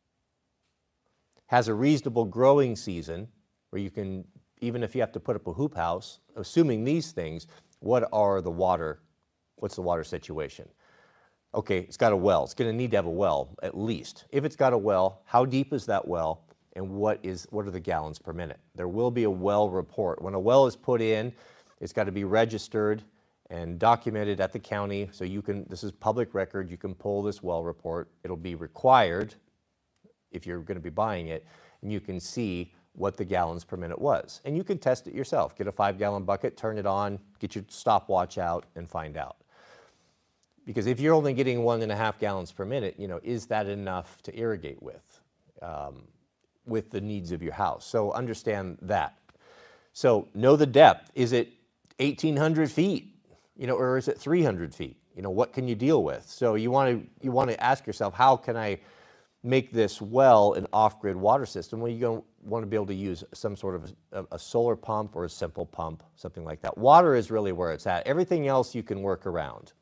has a reasonable growing season, where you can, even if you have to put up a hoop house, assuming these things, what's the water situation? Okay, it's got a well. It's going to need to have a well, at least. If it's got a well, how deep is that well, and what are the gallons per minute? There will be a well report. When a well is put in, it's got to be registered and documented at the county, so this is public record, you can pull this well report. It'll be required if you're going to be buying it, and you can see what the gallons per minute was. And you can test it yourself. Get a 5-gallon bucket, turn it on, get your stopwatch out, and find out. Because if you're only getting 1.5 gallons per minute, is that enough to irrigate with the needs of your house? So understand that. So know the depth. Is it 1,800 feet? Or is it 300 feet? What can you deal with? So you want to ask yourself, how can I make this well an off-grid water system? Well, you're going to want to be able to use some sort of a solar pump or a simple pump, something like that. Water is really where it's at. Everything else you can work around,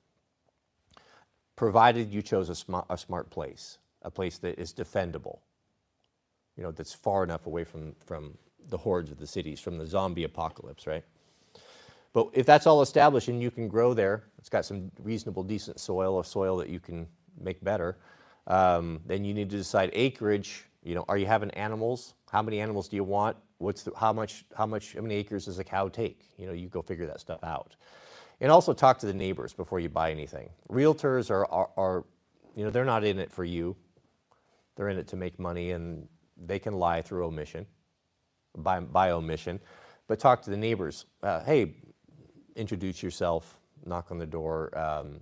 provided you chose a smart place, a place that is defendable, that's far enough away from the hordes of the cities, from the zombie apocalypse, right? But if that's all established and you can grow there, it's got some reasonable, decent soil, a soil that you can make better, then you need to decide acreage. Are you having animals? How many animals do you want? How many acres does a cow take? You go figure that stuff out. And also talk to the neighbors before you buy anything. Realtors are they're not in it for you. They're in it to make money, and they can lie through omission, by omission. But talk to the neighbors. Hey, introduce yourself, knock on the door.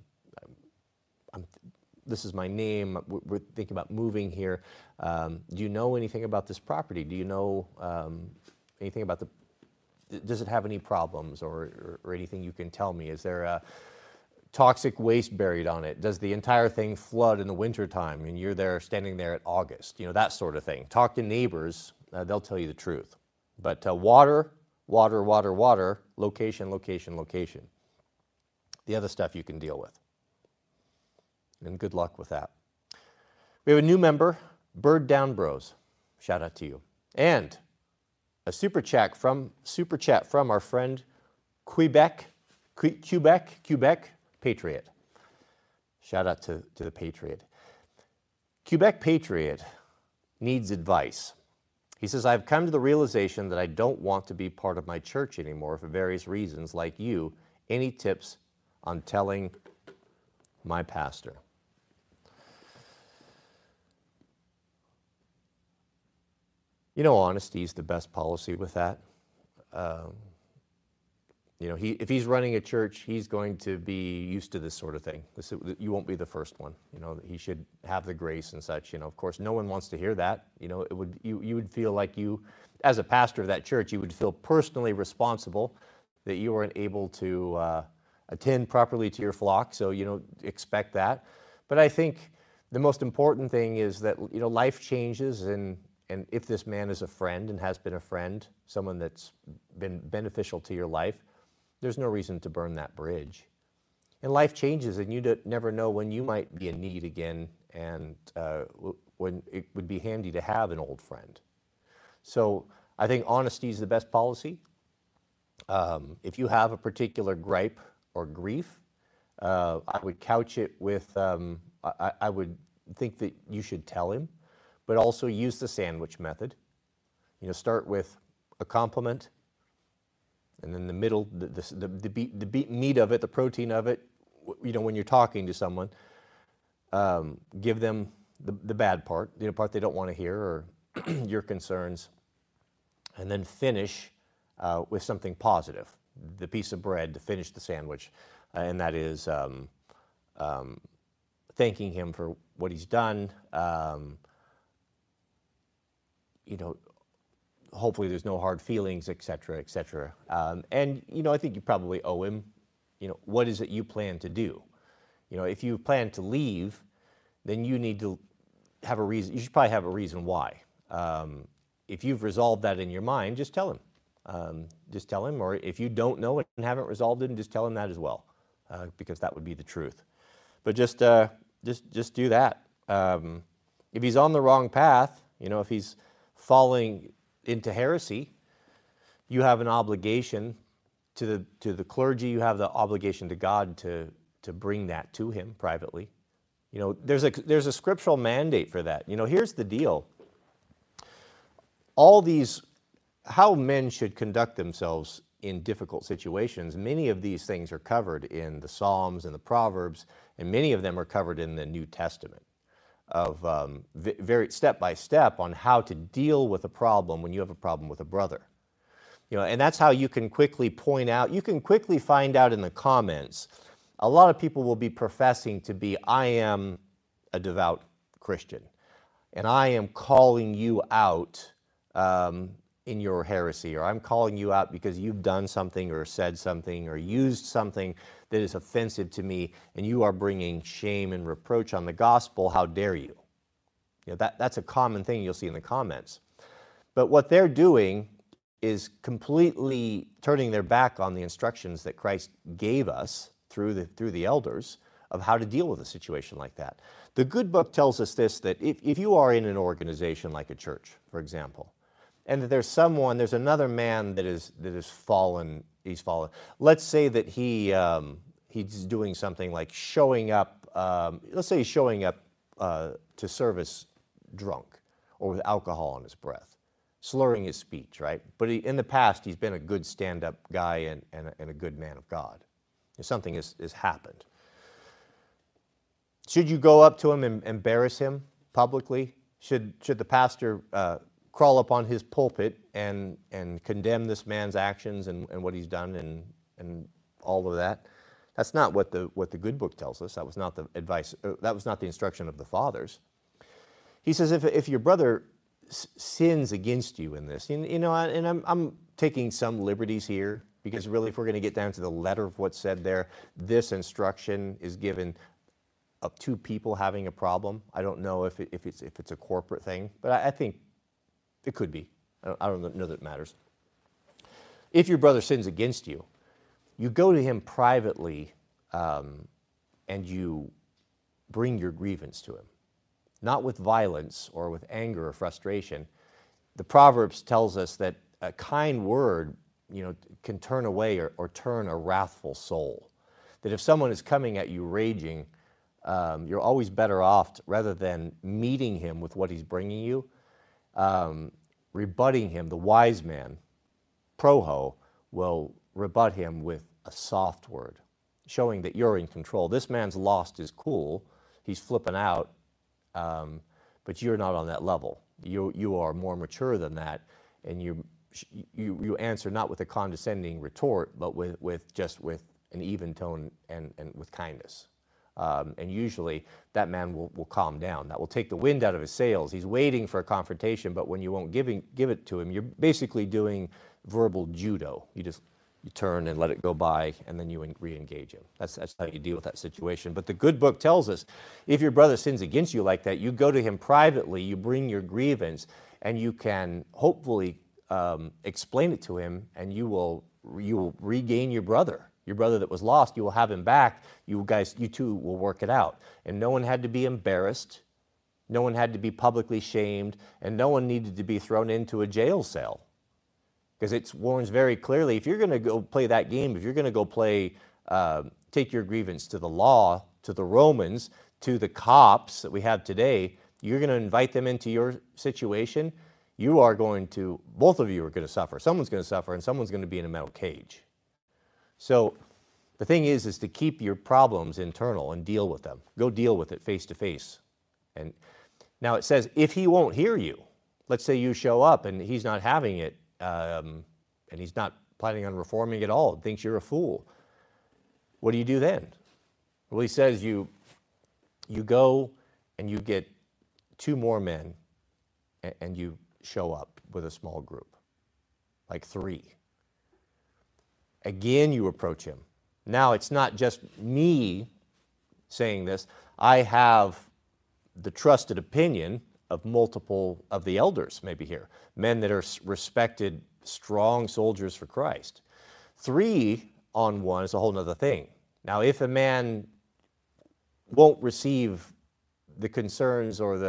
This is my name. We're thinking about moving here. Do you know anything about this property? Do you know anything about does it have any problems or anything you can tell me? Is there a toxic waste buried on it? Does the entire thing flood in the wintertime and you're standing there at August? That sort of thing. Talk to neighbors. They'll tell you the truth. But water, water, water, water, location, location, location. The other stuff you can deal with. And good luck with that. We have a new member, Bird Down Bros. Shout out to you. And a super chat from our friend Quebec Patriot. Shout out to the Patriot. Quebec Patriot needs advice. He says, I've come to the realization that I don't want to be part of my church anymore for various reasons. Like you, any tips on telling my pastor? You know, honesty is the best policy with that. If he's running a church, he's going to be used to this sort of thing. You won't be the first one. He should have the grace and such. Of course, no one wants to hear that. You would feel like you, as a pastor of that church, you would feel personally responsible that you weren't able to attend properly to your flock. So, expect that. But I think the most important thing is that, life changes, and if this man is a friend and has been a friend, someone that's been beneficial to your life, there's no reason to burn that bridge. And life changes, and you never know when you might be in need again, and when it would be handy to have an old friend. So I think honesty is the best policy. If you have a particular gripe or grief, I would couch it with, I would think that you should tell him, but also use the sandwich method. Start with a compliment, and then the middle, the meat of it, the protein of it, when you're talking to someone, give them the bad part, the part they don't want to hear, or your concerns, and then finish with something positive, the piece of bread to finish the sandwich, and that is thanking him for what he's done. Hopefully there's no hard feelings, et cetera, et cetera. And I think you probably owe him, what is it you plan to do? If you plan to leave, then you need to have a reason. You should probably have a reason why. If you've resolved that in your mind, just tell him. Or if you don't know and haven't resolved it, just tell him that as well, because that would be the truth. But just do that. If he's on the wrong path, if he's falling into heresy, you have an obligation to the clergy. You have the obligation to God to bring that to him privately. There's a scriptural mandate for that. Here's the deal. How men should conduct themselves in difficult situations, many of these things are covered in the Psalms and the Proverbs, and many of them are covered in the New Testament, of very step by step on how to deal with a problem when you have a problem with a brother. And that's how you can quickly point out, you can quickly find out in the comments. A lot of people will be professing to be, I am a devout Christian, and I am calling you out in your heresy, or I'm calling you out because you've done something or said something or used something that is offensive to me, and you are bringing shame and reproach on the gospel. How dare you? That's a common thing you'll see in the comments. But what they're doing is completely turning their back on the instructions that Christ gave us through the elders of how to deal with a situation like that. The good book tells us this, that if you are in an organization like a church, for example, and that there's another man that is fallen, he's fallen. Let's say that he's doing something like showing up, let's say he's showing up to service drunk or with alcohol on his breath, slurring his speech, right? But in the past, he's been a good stand-up guy and a good man of God. Something has happened. Should you go up to him and embarrass him publicly? Should the pastor crawl up on his pulpit and condemn this man's actions and what he's done and all of that? That's not what the good book tells us. That was not the advice. That was not the instruction of the fathers. He says if your brother sins against you in this, and I'm taking some liberties here, because really, if we're going to get down to the letter of what's said there, this instruction is given of two people having a problem. I don't know if it's a corporate thing, but I think it could be. I don't know that it matters. If your brother sins against you, you go to him privately, and you bring your grievance to him, not with violence or with anger or frustration. The Proverbs tells us that a kind word, can turn away or turn a wrathful soul. That if someone is coming at you raging, you're always better off, rather than meeting him with what he's bringing you, rebutting him. The wise man, proho, will rebut him with a soft word, showing that you're in control. This man's lost his cool. He's flipping out, but you're not on that level. You are more mature than that, and you answer not with a condescending retort, but with an even tone and with kindness. And usually that man will calm down. That will take the wind out of his sails. He's waiting for a confrontation, but when you won't give it to him, you're basically doing verbal judo. You turn and let it go by, and then you re-engage him. That's how you deal with that situation. But the good book tells us, if your brother sins against you like that, you go to him privately, you bring your grievance, and you can hopefully explain it to him, and you will regain your brother. Your brother that was lost, you will have him back. You two will work it out. And no one had to be embarrassed. No one had to be publicly shamed. And no one needed to be thrown into a jail cell. Because it warns very clearly, if you're going to go play that game, if you're going to go play, take your grievance to the law, to the Romans, to the cops that we have today, you're going to invite them into your situation, both of you are going to suffer. Someone's going to suffer, and someone's going to be in a metal cage. So the thing is to keep your problems internal and deal with them. Go deal with it face to face. And now it says, if he won't hear you, let's say you show up and he's not having it, and he's not planning on reforming at all, and thinks you're a fool, what do you do then? Well, he says you go and you get 2 more men and you show up with a small group, like 3. Again, you approach him. Now, it's not just me saying this. I have the trusted opinion of multiple of the elders, maybe here, men that are respected, strong soldiers for Christ. 3 on 1 is a whole other thing. Now, if a man won't receive the concerns or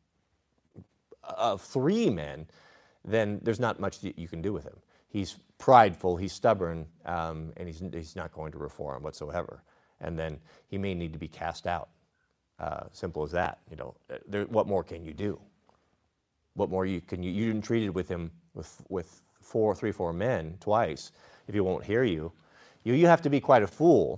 of 3 men, then there's not much that you can do with him. He's prideful, he's stubborn, and he's not going to reform whatsoever. And then he may need to be cast out. Simple as that. What more can you do? What more can you? You didn't treat it with him with 4 men twice. If he won't hear you, you have to be quite a fool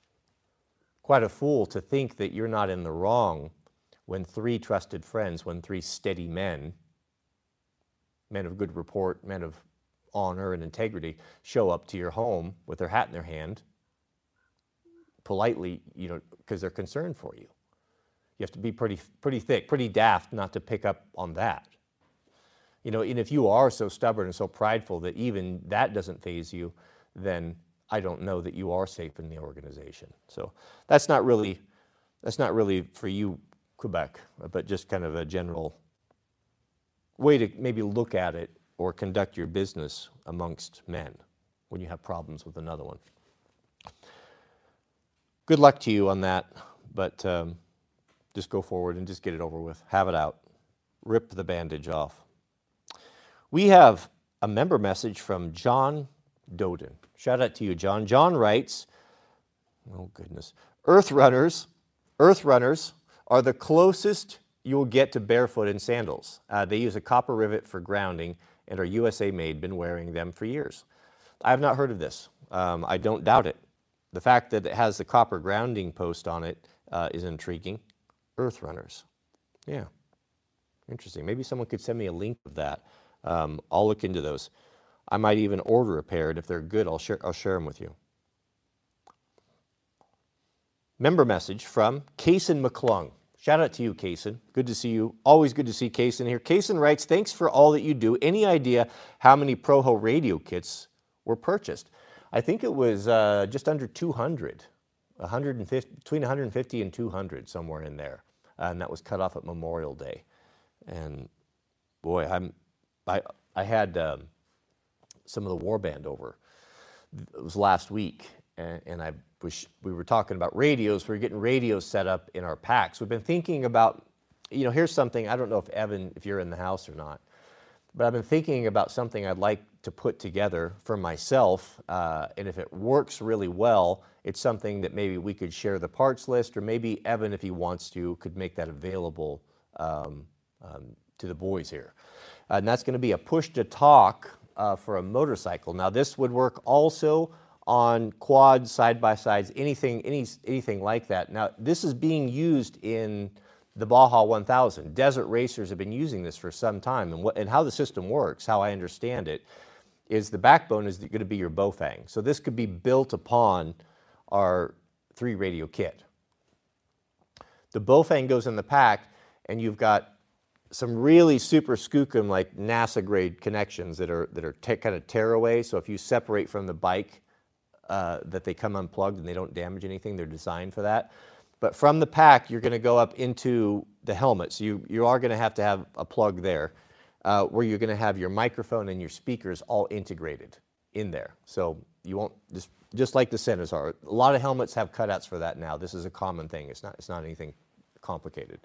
to think that you're not in the wrong when 3 trusted friends, when 3 steady men of good report, men of honor and integrity, show up to your home with their hat in their hand, politely, because they're concerned for you. You have to be pretty thick, pretty daft not to pick up on that. And if you are so stubborn and so prideful that even that doesn't faze you, then I don't know that you are safe in the organization. So that's not really for you, Quebec, but just kind of a general way to maybe look at it or conduct your business amongst men when you have problems with another one. Good luck to you on that, but just go forward and just get it over with. Have it out. Rip the bandage off. We have a member message from John Doden. Shout out to you, John. John writes, oh goodness, Earth runners are the closest you will get to barefoot in sandals. They use a copper rivet for grounding and are USA made, been wearing them for years. I have not heard of this. I don't doubt it. The fact that it has the copper grounding post on it is intriguing. Earth runners. Yeah, interesting. Maybe someone could send me a link of that. I'll look into those. I might even order a pair, and if they're good, I'll share them with you. Member message from Kaysen McClung. Shout out to you, Kaysen. Good to see you. Always good to see Kaysen here. Kaysen writes, thanks for all that you do. Any idea how many Proho radio kits were purchased? I think it was just under 200, 150, between 150 and 200, somewhere in there. And that was cut off at Memorial Day. And boy, I had some of the war band over. It was last week, and we were talking about radios. We're getting radios set up in our packs. We've been thinking about, here's something, I don't know if Evan, if you're in the house or not, but I've been thinking about something I'd like to put together for myself, and if it works really well, it's something that maybe we could share the parts list, or maybe Evan, if he wants to, could make that available to the boys here. And that's going to be a push-to-talk for a motorcycle. Now, this would work also on quads, side-by-sides, anything like that. Now, this is being used in the Baja 1000. Desert racers have been using this for some time, and how the system works, how I understand it, is the backbone is going to be your Bofang. So this could be built upon our 3-radio kit. The Bofang goes in the pack, and you've got some really super skookum, like NASA-grade connections that are kind of tearaway. So if you separate from the bike, that they come unplugged and they don't damage anything. They're designed for that. But from the pack, you're going to go up into the helmet. So you are going to have a plug there, where you're going to have your microphone and your speakers all integrated in there. So you won't, just like the Sentas are. A lot of helmets have cutouts for that now. This is a common thing. It's not anything complicated.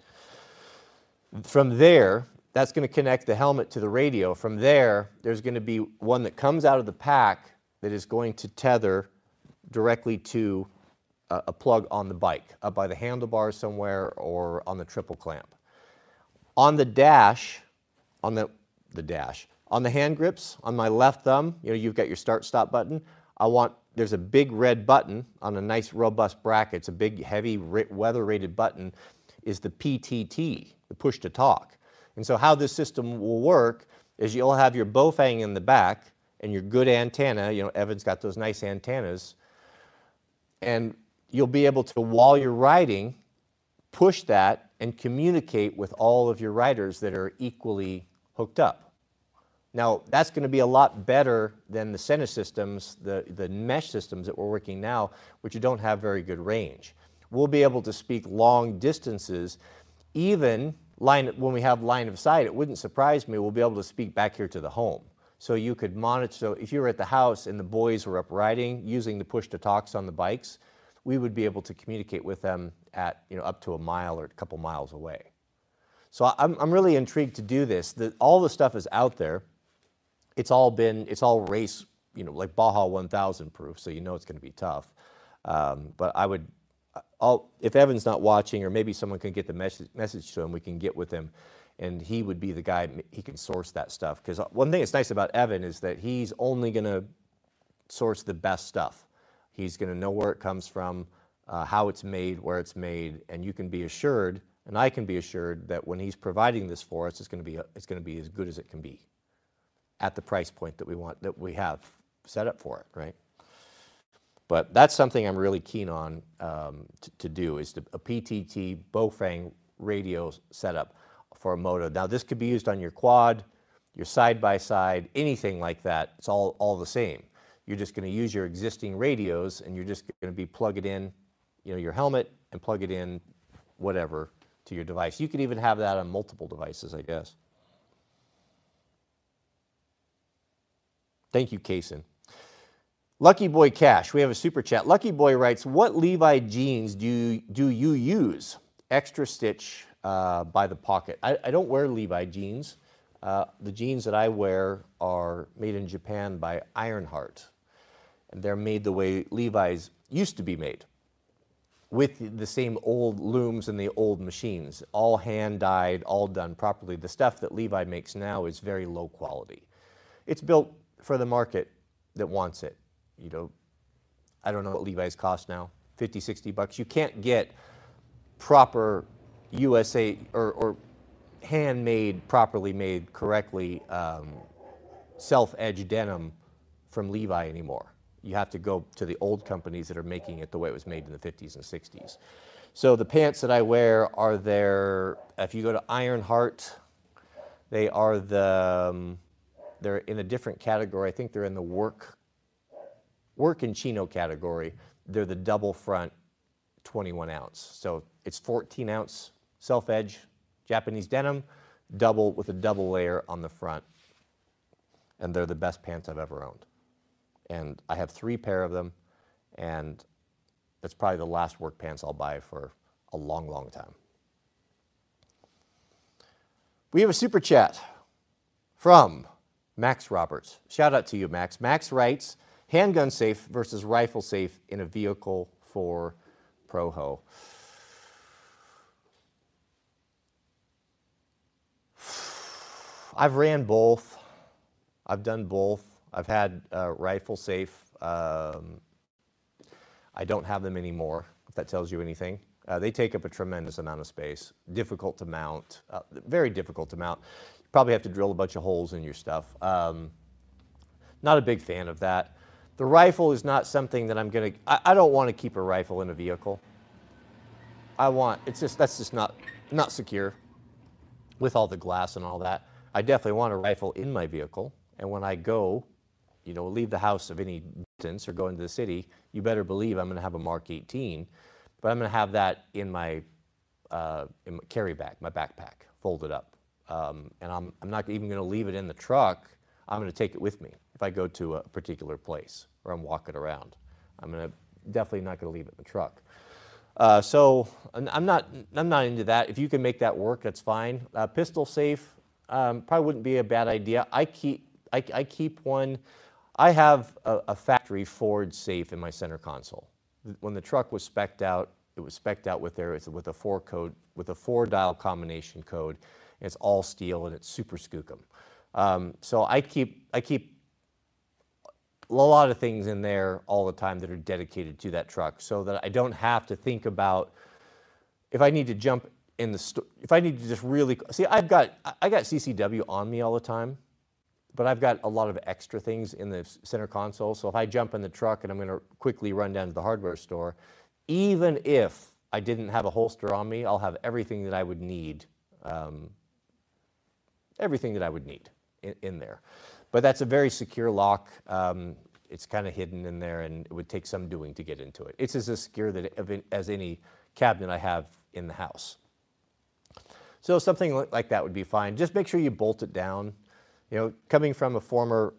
From there, that's going to connect the helmet to the radio. From there, there's going to be one that comes out of the pack that is going to tether directly to a plug on the bike, up by the handlebars somewhere or on the triple clamp. On the dash, on the hand grips, on my left thumb, you've got your start-stop button. There's a big red button on a nice robust bracket. It's a big, heavy, weather-rated button, is the PTT, the push-to-talk. And so how this system will work is you'll have your Bofang in the back and your good antenna. Evan's got those nice antennas. And you'll be able to, while you're riding, push that and communicate with all of your riders that are equally hooked up. Now, that's going to be a lot better than the Sena systems, the mesh systems that we're working now, which don't have very good range. We'll be able to speak long distances, even when we have line of sight. It wouldn't surprise me, we'll be able to speak back here to the home. So you could monitor, so if you were at the house and the boys were up riding using the push-to-talks on the bikes, we would be able to communicate with them at up to a mile or a couple miles away. So I'm really intrigued to do this. All the stuff is out there. It's all race, like Baja 1000 proof, so it's going to be tough. But if Evan's not watching, or maybe someone can get the message to him, we can get with him, and he would be the guy, he can source that stuff. Because one thing that's nice about Evan is that he's only going to source the best stuff. He's going to know where it comes from, how it's made, where it's made, and you can be assured, and I can be assured, that when he's providing this for us, it's going to be as good as it can be at the price point that we have set up for it, right? But that's something I'm really keen on to do, is a PTT Bofang radio setup for a moto. Now, this could be used on your quad, your side-by-side, anything like that. It's all the same. You're just going to use your existing radios, and you're just going to plug it in, your helmet, and plug it in, whatever, to your device. You could even have that on multiple devices, I guess. Thank you, Kaysen. Lucky Boy Cash, we have a super chat. Lucky Boy writes, what Levi jeans do you use? Extra stitch by the pocket. I don't wear Levi jeans. The jeans that I wear are made in Japan by Ironheart. And they're made the way Levi's used to be made, with the same old looms and the old machines, all hand-dyed, all done properly. The stuff that Levi makes now is very low quality. It's built for the market that wants it. I don't know what Levi's cost now, 50, 60 bucks. You can't get proper USA or handmade, properly made, correctly self-edge denim from Levi anymore. You have to go to the old companies that are making it the way it was made in the 50s and 60s. So the pants that I wear are if you go to Ironheart, they're in a different category. I think they're in the work and chino category. They're the double front 21 ounce. So it's 14 ounce self-edge Japanese denim, with a double layer on the front. And they're the best pants I've ever owned. And I have 3 pair of them, And that's probably the last work pants I'll buy for a long, long time. We have a super chat from Max Roberts. Shout out to you, Max. Max writes, handgun safe versus rifle safe in a vehicle for Proho. I've ran both. I've done both. I've had rifle safe. I don't have them anymore, if that tells you anything. They take up a tremendous amount of space. Difficult to mount. Very difficult to mount. You probably have to drill a bunch of holes in your stuff. Not a big fan of that. The rifle is not something that I'm going to... I don't want to keep a rifle in a vehicle. That's just not secure with all the glass and all that. I definitely want a rifle in my vehicle. And when I go, leave the house of any distance or go into the city, you better believe I'm going to have a Mark 18. But I'm going to have that in my carry bag, my backpack, folded up. And I'm not even going to leave it in the truck. I'm going to take it with me if I go to a particular place or I'm walking around. I'm definitely not going to leave it in the truck. So I'm not into that. If you can make that work, that's fine. Pistol safe probably wouldn't be a bad idea. I keep one. I have a factory Ford safe in my center console. When the truck was spec'd out, it was spec'd out with a 4-dial combination code. And it's all steel and it's super skookum. So I keep a lot of things in there all the time that are dedicated to that truck, so that I don't have to think about if I need to jump in the store. If I need to just really see, I got CCW on me all the time. But I've got a lot of extra things in the center console. So if I jump in the truck and I'm going to quickly run down to the hardware store, even if I didn't have a holster on me, I'll have everything that I would need, in there. But that's a very secure lock. It's kind of hidden in there, and it would take some doing to get into it. It's as secure as any cabinet I have in the house. So something like that would be fine. Just make sure you bolt it down. Coming from a former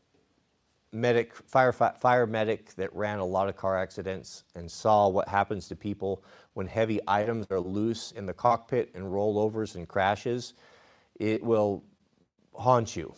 fire medic that ran a lot of car accidents and saw what happens to people when heavy items are loose in the cockpit and rollovers and crashes, it will haunt you.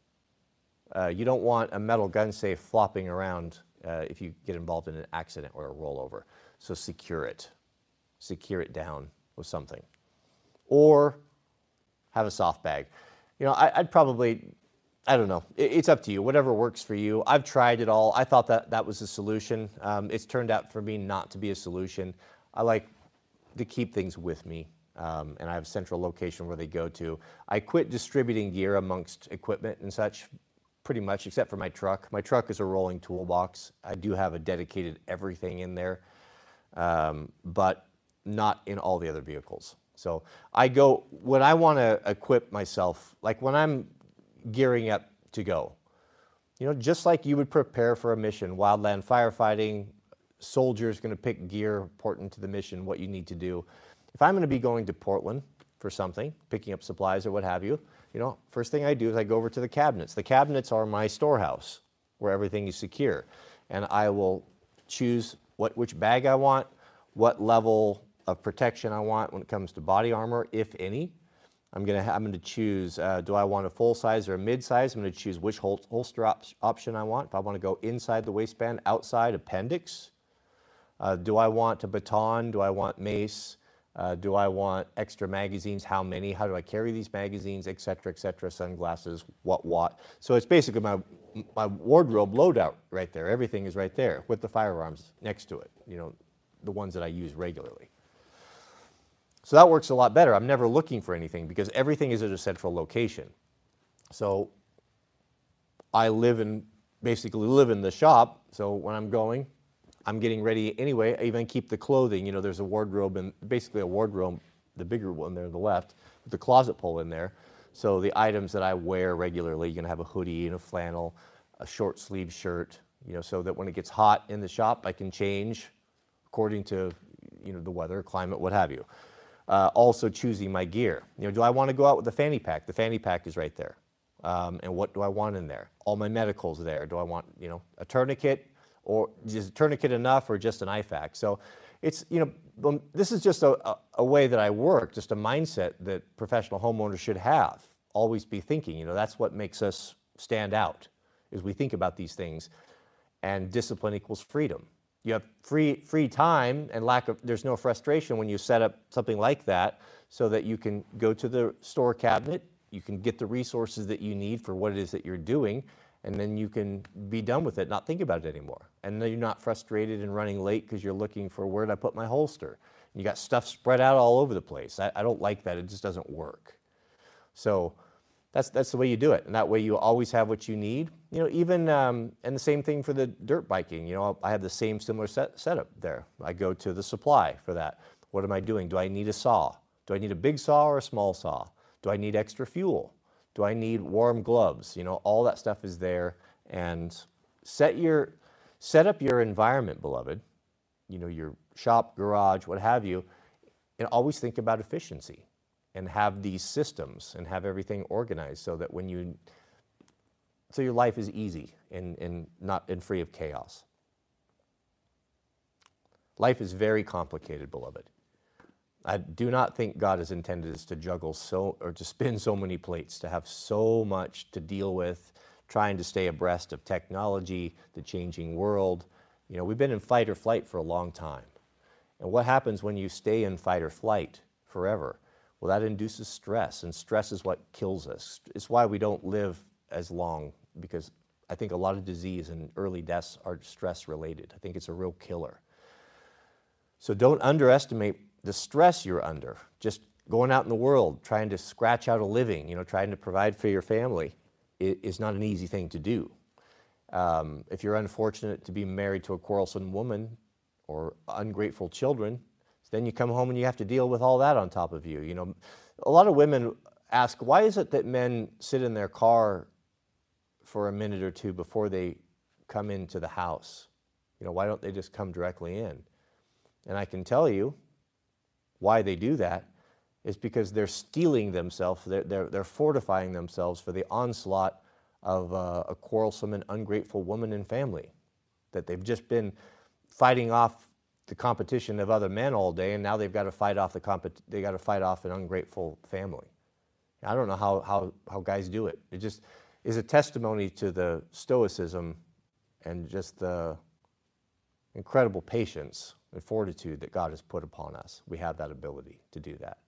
You don't want a metal gun safe flopping around if you get involved in an accident or a rollover. So secure it. Secure it down with something. Or have a soft bag. I'd probably, I don't know. It's up to you. Whatever works for you. I've tried it all. I thought that was a solution. It's turned out for me not to be a solution. I like to keep things with me, and I have a central location where they go to. I quit distributing gear amongst equipment and such, pretty much, except for my truck. My truck is a rolling toolbox. I do have a dedicated everything in there, but not in all the other vehicles. So I go, when I want to equip myself, like when I'm gearing up to go, just like you would prepare for a mission, wildland firefighting, soldiers going to pick gear important to the mission, what you need to do. If I'm going to be going to Portland for something, picking up supplies or what have you, first thing I do is I go over to the cabinets. The cabinets are my storehouse where everything is secure. And I will choose which bag I want, what level of protection I want when it comes to body armor, if any. I'm going to choose, do I want a full size or a mid size? I'm going to choose which holster option I want. If I want to go inside the waistband, outside, appendix. Do I want a baton? Do I want mace? Do I want extra magazines? How many? How do I carry these magazines, et cetera, sunglasses, what? So it's basically my wardrobe loadout right there. Everything is right there with the firearms next to it, the ones that I use regularly. So that works a lot better. I'm never looking for anything because everything is at a central location. So I basically live in the shop. So when I'm going, I'm getting ready anyway. I even keep the clothing. There's a wardrobe, and basically a wardrobe, the bigger one there on the left, with the closet pull in there. So the items that I wear regularly, you're going to have a hoodie and a flannel, a short sleeve shirt, so that when it gets hot in the shop, I can change according to, the weather, climate, what have you. Also choosing my gear. Do I want to go out with the fanny pack? The fanny pack is right there. And what do I want in there? All my medical's there. Do I want, a tourniquet, or is a tourniquet enough, or just an IFAK? So it's, this is just a way that I work, just a mindset that professional homeowners should have. Always be thinking, that's what makes us stand out, is we think about these things. And discipline equals freedom. You have free time and there's no frustration when you set up something like that, so that you can go to the store cabinet, you can get the resources that you need for what it is that you're doing, and then you can be done with it, not think about it anymore. And then you're not frustrated and running late because you're looking for, where did I put my holster? And you got stuff spread out all over the place. I don't like that. It just doesn't work. So that's the way you do it. And that way you always have what you need. Even, and the same thing for the dirt biking. I have the same similar setup there. I go to the supply for that. What am I doing? Do I need a saw? Do I need a big saw or a small saw? Do I need extra fuel? Do I need warm gloves? All that stuff is there. And set up your environment, beloved, your shop, garage, what have you, and always think about efficiency and have these systems and have everything organized so that so your life is easy and free of chaos. Life is very complicated, beloved. I do not think God has intended us to juggle or to spin so many plates, to have so much to deal with, trying to stay abreast of technology, the changing world. We've been in fight or flight for a long time. And what happens when you stay in fight or flight forever? Well, that induces stress, and stress is what kills us. It's why we don't live as long, because I think a lot of disease and early deaths are stress related. I think it's a real killer. So don't underestimate the stress you're under. Just going out in the world, trying to scratch out a living, trying to provide for your family is not an easy thing to do. If you're unfortunate to be married to a quarrelsome woman or ungrateful children, then you come home and you have to deal with all that on top of you. A lot of women ask, why is it that men sit in their car for a minute or two before they come into the house? Why don't they just come directly in? And I can tell you why they do that is because they're steeling themselves, they're fortifying themselves for the onslaught of a quarrelsome and ungrateful woman and family, that they've just been fighting off the competition of other men all day, and now they've got to fight off an ungrateful family. I don't know how guys do it. It just is a testimony to the stoicism and just the incredible patience and fortitude that God has put upon us. We have that ability to do that.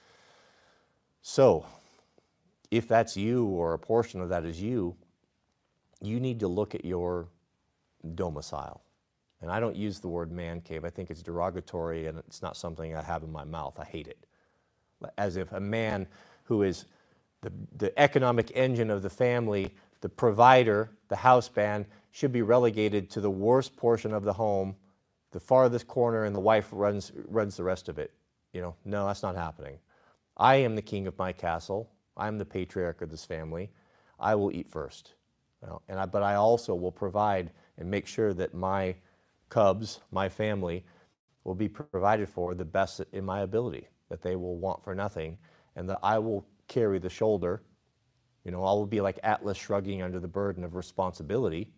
So, if that's you, or a portion of that is you need to look at your domicile. And I don't use the word man cave. I think it's derogatory, and it's not something I have in my mouth. I hate it. As if a man who is the economic engine of the family, the provider, the house band, should be relegated to the worst portion of the home, the farthest corner, and the wife runs the rest of it. No, that's not happening. I am the king of my castle. I'm the patriarch of this family. I will eat first. But I also will provide and make sure that my cubs, my family, will be provided for the best in my ability, that they will want for nothing, and that I will carry the shoulder. I will be like Atlas shrugging under the burden of responsibility,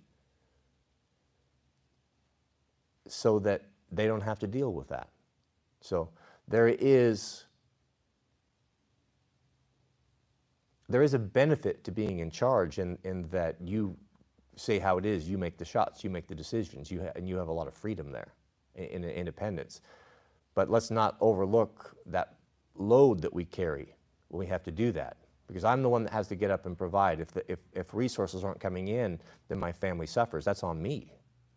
so that they don't have to deal with that. So there is a benefit to being in charge in that you say how it is, you make the shots, you make the decisions, and you have a lot of freedom there in independence. But let's not overlook that load that we carry when we have to do that, because I'm the one that has to get up and provide. If resources aren't coming in, then my family suffers. That's on me.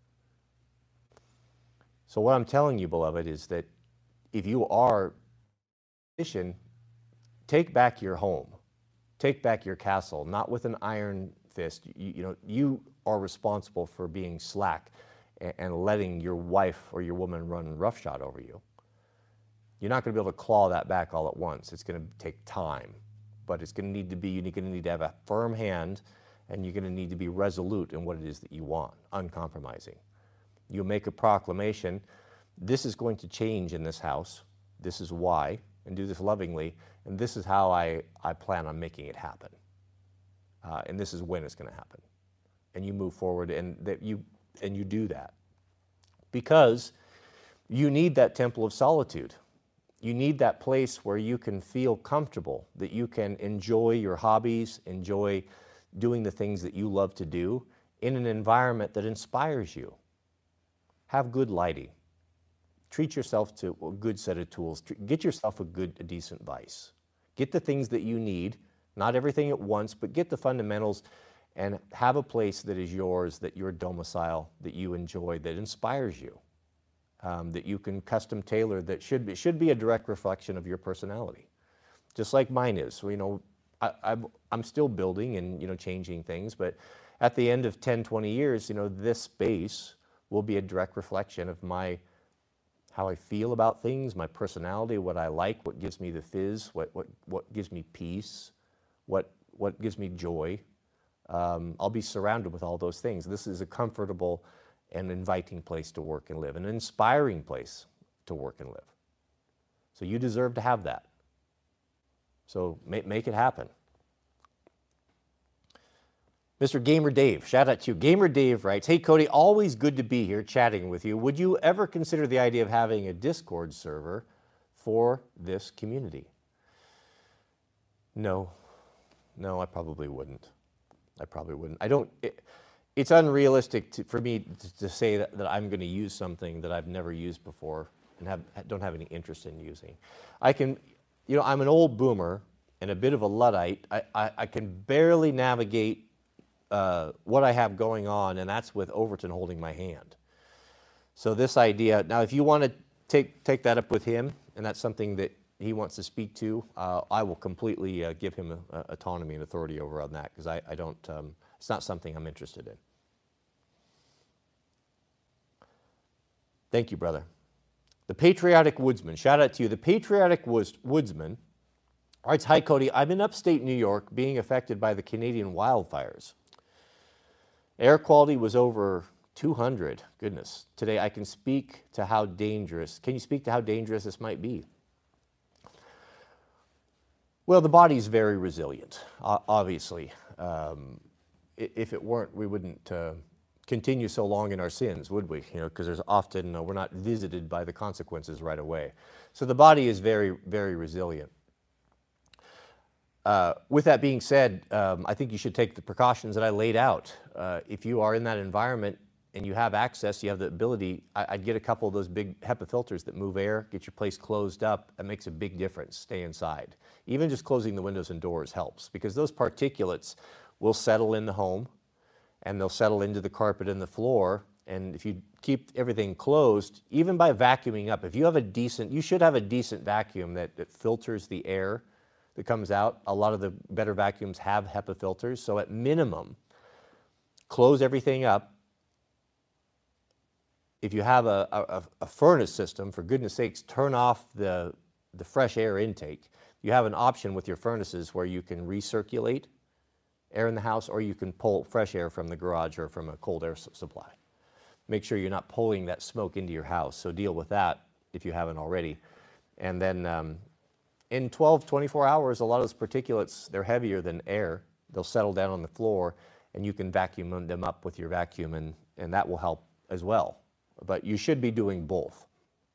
So what I'm telling you, beloved, is that if you are Christian, take back your home, take back your castle, not with an iron fist. You are responsible for being slack and letting your wife or your woman run roughshod over you. You're not going to be able to claw that back all at once. It's going to take time, but it's going to need to be, you're going to need to have a firm hand, and you're going to need to be resolute in what it is that you want, uncompromising. You'll make a proclamation, this is going to change in this house, this is why, and do this lovingly, and this is how I plan on making it happen. And this is when it's going to happen. And you move forward, and that you and you do that. Because you need that temple of solitude. You need that place where you can feel comfortable, that you can enjoy your hobbies, enjoy doing the things that you love to do in an environment that inspires you. Have good lighting. Treat yourself to a good set of tools. Get yourself a decent vice. Get the things that you need, not everything at once, but get the fundamentals and have a place that is yours, that your domicile, that you enjoy, that inspires you. That you can custom tailor, that should be a direct reflection of your personality, just like mine is. So, I'm still building and changing things, but at the end of 10, 20 years, this space will be a direct reflection of how I feel about things, my personality, what I like, what gives me the fizz, what gives me peace, what gives me joy. I'll be surrounded with all those things. This is a comfortable and inviting place to work and live, an inspiring place to work and live. So you deserve to have that. So make it happen. Mr. Gamer Dave, shout out to you. Gamer Dave writes, "Hey Cody, always good to be here chatting with you. Would you ever consider the idea of having a Discord server for this community?" No, I probably wouldn't. It's unrealistic for me to say that I'm going to use something that I've never used before and don't have any interest in using. I'm an old boomer and a bit of a Luddite. I can barely navigate what I have going on, and that's with Overton holding my hand. So this idea, now if you want to take that up with him, and that's something that he wants to speak to, I will completely give him autonomy and authority over on that, because I don't, it's not something I'm interested in. Thank you, brother. The Patriotic Woodsman, shout out to you. The Patriotic Woodsman writes, "Hi Cody, I'm in upstate New York being affected by the Canadian wildfires. Air quality was over 200, goodness. Today I can speak to how dangerous, can you speak to how dangerous this might be?" Well, the body is very resilient, obviously. If it weren't, we wouldn't continue so long in our sins, would we? Because there's often, we're not visited by the consequences right away. So the body is very, very resilient. With that being said, I think you should take the precautions that I laid out. If you are in that environment and you have access, you have the ability, I'd get a couple of those big HEPA filters that move air, get your place closed up. It makes a big difference. Stay inside. Even just closing the windows and doors helps, because those particulates will settle in the home and they'll settle into the carpet and the floor. And if you keep everything closed, even by vacuuming up, if you have you should have a decent vacuum that filters the air that comes out. A lot of the better vacuums have HEPA filters. So at minimum, close everything up. If you have a furnace system, for goodness sakes, turn off the fresh air intake. You have an option with your furnaces where you can recirculate air in the house, or you can pull fresh air from the garage or from a cold air supply. Make sure you're not pulling that smoke into your house. So deal with that if you haven't already. And then in 12, 24 hours, a lot of those particulates, they're heavier than air. They'll settle down on the floor, and you can vacuum them up with your vacuum, and that will help as well. But you should be doing both.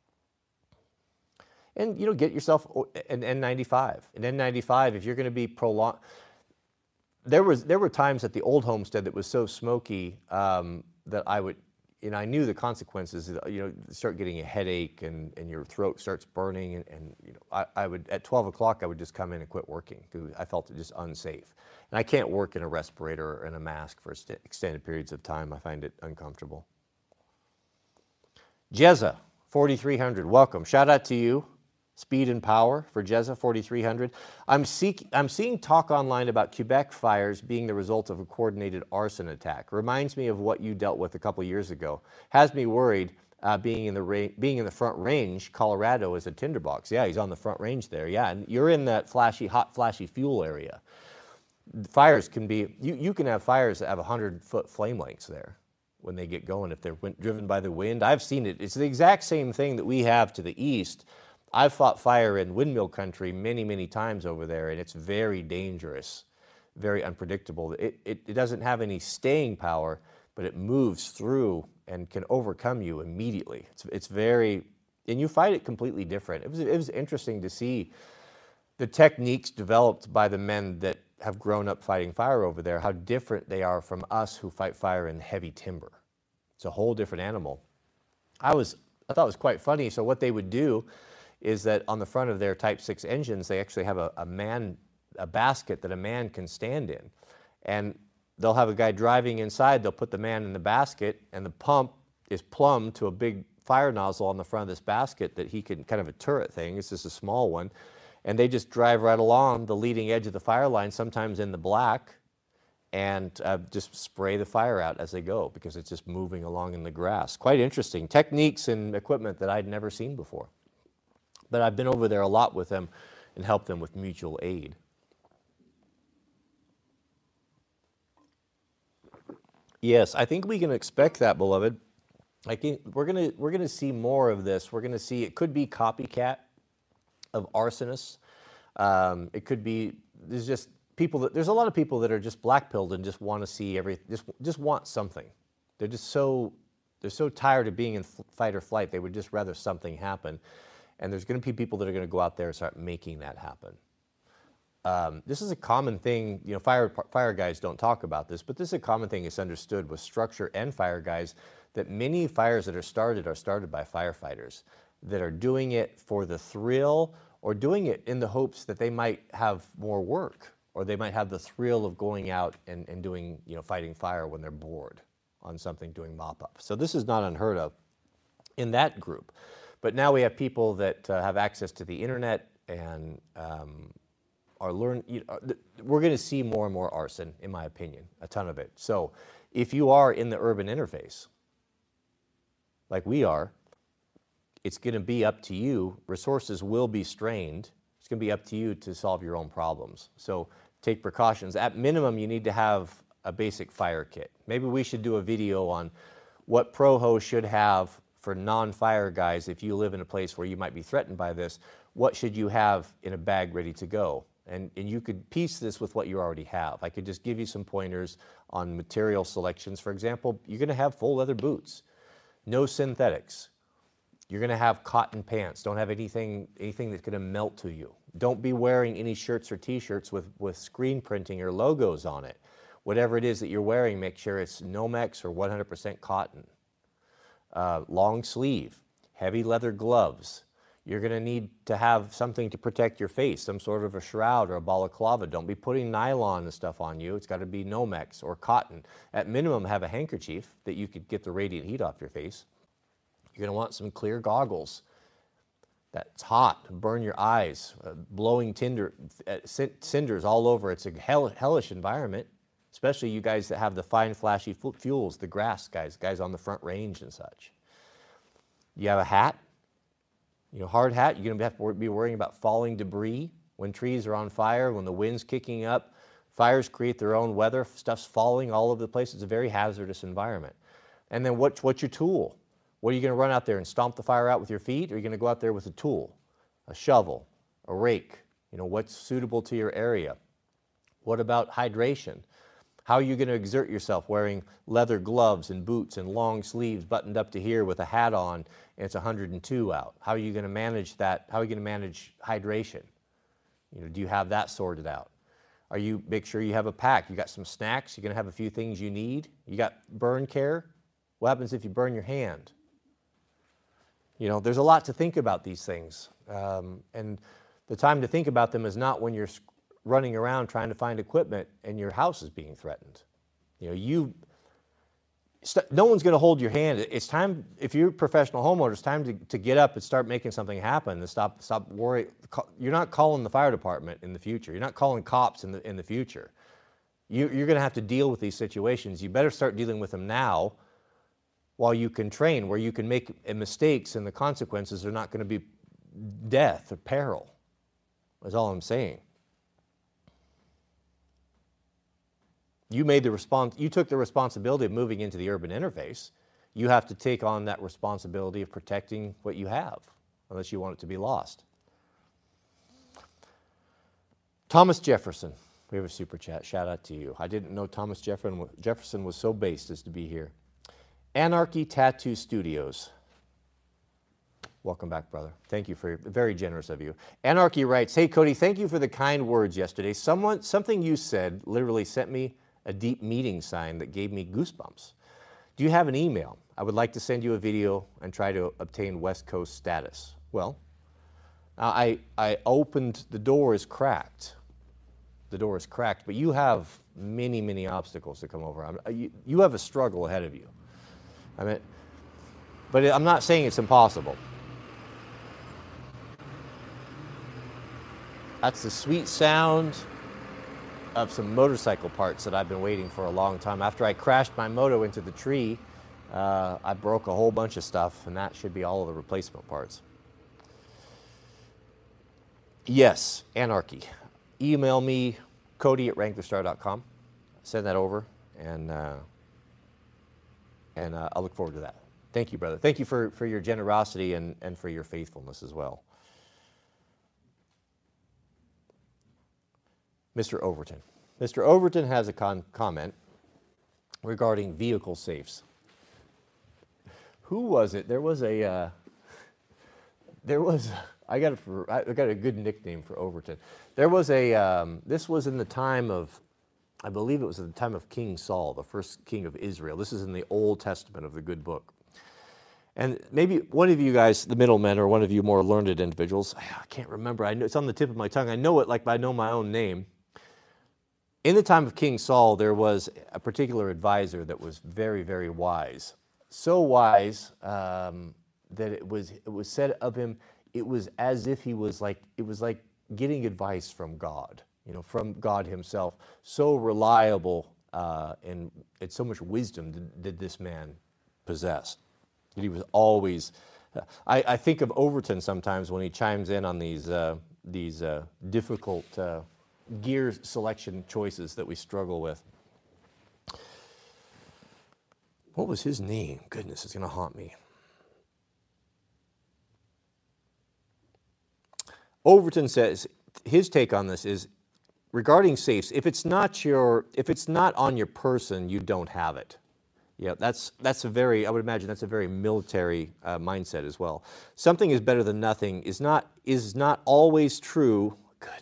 And get yourself an N95. An N95, if you're going to be prolonged. There were times at the old homestead that was so smoky that I knew the consequences. Start getting a headache and your throat starts burning, and I would, at 12 o'clock, I would just come in and quit working because I felt it just unsafe. And I can't work in a respirator or in a mask for extended periods of time. I find it uncomfortable. Jezza, 4300, welcome. Shout out to you. Speed and power for Jezza, 4300. I'm seeing talk online about Quebec fires being the result of a coordinated arson attack. Reminds me of what you dealt with a couple years ago. Has me worried. Being in the Front Range, Colorado is a tinderbox. Yeah, he's on the Front Range there. Yeah, and you're in that hot, flashy fuel area. Fires can be. You can have fires that have 100-foot flame lengths there when they get going if they're driven by the wind. I've seen it. It's the exact same thing that we have to the east. I've fought fire in windmill country many, many times over there, and it's very dangerous, very unpredictable. It doesn't have any staying power. but it moves through and can overcome you immediately. It's very, and you fight it completely different. It was interesting to see the techniques developed by the men that have grown up fighting fire over there, how different they are from us who fight fire in heavy timber. It's a whole different animal. I thought it was quite funny. So what they would do is that on the front of their Type 6 engines, they actually have a basket that a man can stand in. And they'll have a guy driving inside, they'll put the man in the basket, and the pump is plumbed to a big fire nozzle on the front of this basket that he can, kind of a turret thing, it's just a small one, and they just drive right along the leading edge of the fire line, sometimes in the black, and just spray the fire out as they go because it's just moving along in the grass. Quite interesting. Techniques and equipment that I'd never seen before. But I've been over there a lot with them and helped them with mutual aid. Yes, I think we can expect that, beloved. I think we're gonna see more of this. We're gonna see, it could be copycat of arsonists. It could be, there's a lot of people that are just black-pilled and just want to see just want something. They're so tired of being in fight or flight, they would just rather something happen. And there's going to be people that are going to go out there and start making that happen. This is a common thing, you know, fire guys don't talk about this, but this is a common thing that's understood with structure and fire guys, that many fires that are started by firefighters that are doing it for the thrill or doing it in the hopes that they might have more work, or they might have the thrill of going out and doing, you know, fighting fire when they're bored on something, doing mop-up. So this is not unheard of in that group. But now we have people that have access to the internet and are we're going to see more and more arson, in my opinion, a ton of it. So if you are in the urban interface, like we are, it's going to be up to you. Resources will be strained. It's going to be up to you to solve your own problems. So take precautions. At minimum, you need to have a basic fire kit. Maybe we should do a video on what Proho should have for non-fire guys. If you live in a place where you might be threatened by this, what should you have in a bag ready to go? And you could piece this with what you already have. I could just give you some pointers on material selections. For example, you're going to have full leather boots, no synthetics. You're going to have cotton pants. Don't have anything that's going to melt to you. Don't be wearing any shirts or t-shirts with screen printing or logos on it. Whatever it is that you're wearing, make sure it's Nomex or 100% cotton. Long sleeve, heavy leather gloves. You're going to need to have something to protect your face, some sort of a shroud or a balaclava. Don't be putting nylon and stuff on you. It's got to be Nomex or cotton. At minimum, have a handkerchief that you could get the radiant heat off your face. You're going to want some clear goggles. That's hot, burn your eyes, blowing cinders all over. It's a hellish environment, especially you guys that have the fine, flashy fuels, the grass guys on the front range and such. You have a hat, you know, hard hat. You're going to have to be worrying about falling debris when trees are on fire, when the wind's kicking up. Fires create their own weather. Stuff's falling all over the place. It's a very hazardous environment. And then what's your tool? What are you going to run out there and stomp the fire out with your feet? Or are you going to go out there with a tool, a shovel, a rake? You know, what's suitable to your area? What about hydration? How are you going to exert yourself wearing leather gloves and boots and long sleeves buttoned up to here with a hat on and it's 102 out? How are you going to manage that? How are you going to manage hydration? You know, do you have that sorted out? Make sure you have a pack. You got some snacks. You're going to have a few things you need. You got burn care. What happens if you burn your hand? You know, there's a lot to think about these things. And the time to think about them is not when you're running around trying to find equipment and your house is being threatened. You know, no one's going to hold your hand. It's time, if you're a professional homeowner, it's time to get up and start making something happen and stop worrying. You're not calling the fire department in the future. You're not calling cops in the future. You're going to have to deal with these situations. You better start dealing with them now while you can train, where you can make mistakes and the consequences are not going to be death or peril. That's all I'm saying. You took the responsibility of moving into the urban interface. You have to take on that responsibility of protecting what you have, unless you want it to be lost. Thomas Jefferson. We have a super chat. Shout out to you. I didn't know Thomas Jefferson was so based as to be here. Anarchy Tattoo Studios. Welcome back, brother. Thank you for very generous of you. Anarchy writes, "Hey Cody, thank you for the kind words yesterday. Something you said literally sent me a deep meeting sign that gave me goosebumps. Do you have an email? I would like to send you a video and try to obtain West Coast status." Well, I opened, the door is cracked. The door is cracked, but you have many, many obstacles to come over. You have a struggle ahead of you. I mean, but I'm not saying it's impossible. That's the sweet sound of some motorcycle parts that I've been waiting for a long time. After I crashed my moto into the tree, I broke a whole bunch of stuff, and that should be all of the replacement parts. Yes, Anarchy. Email me, Cody@wranglerstar.com. Send that over, and I'll look forward to that. Thank you, brother. Thank you for your generosity and for your faithfulness as well. Mr. Overton. Mr. Overton has a comment regarding vehicle safes. Who was it? I got a good nickname for Overton. There was this was in the time of, I believe it was at the time of King Saul, the first king of Israel. This is in the Old Testament of the good book. And maybe one of you guys, the middlemen, or one of you more learned individuals, I can't remember. I know it's on the tip of my tongue. I know it like I know my own name. In the time of King Saul, there was a particular advisor that was very, very wise. So wise that it was said of him, it was as if it was like getting advice from God, from God himself. So reliable and so much wisdom did this man possess. That he was always, I think of Overton sometimes when he chimes in on these difficult gear selection choices that we struggle with. What was his name? Goodness, it's going to haunt me. Overton says his take on this is regarding safes. If it's not on your person, you don't have it. Yeah, that's a very, I would imagine that's a very military mindset as well. Something is better than nothing is not always true. Goodness.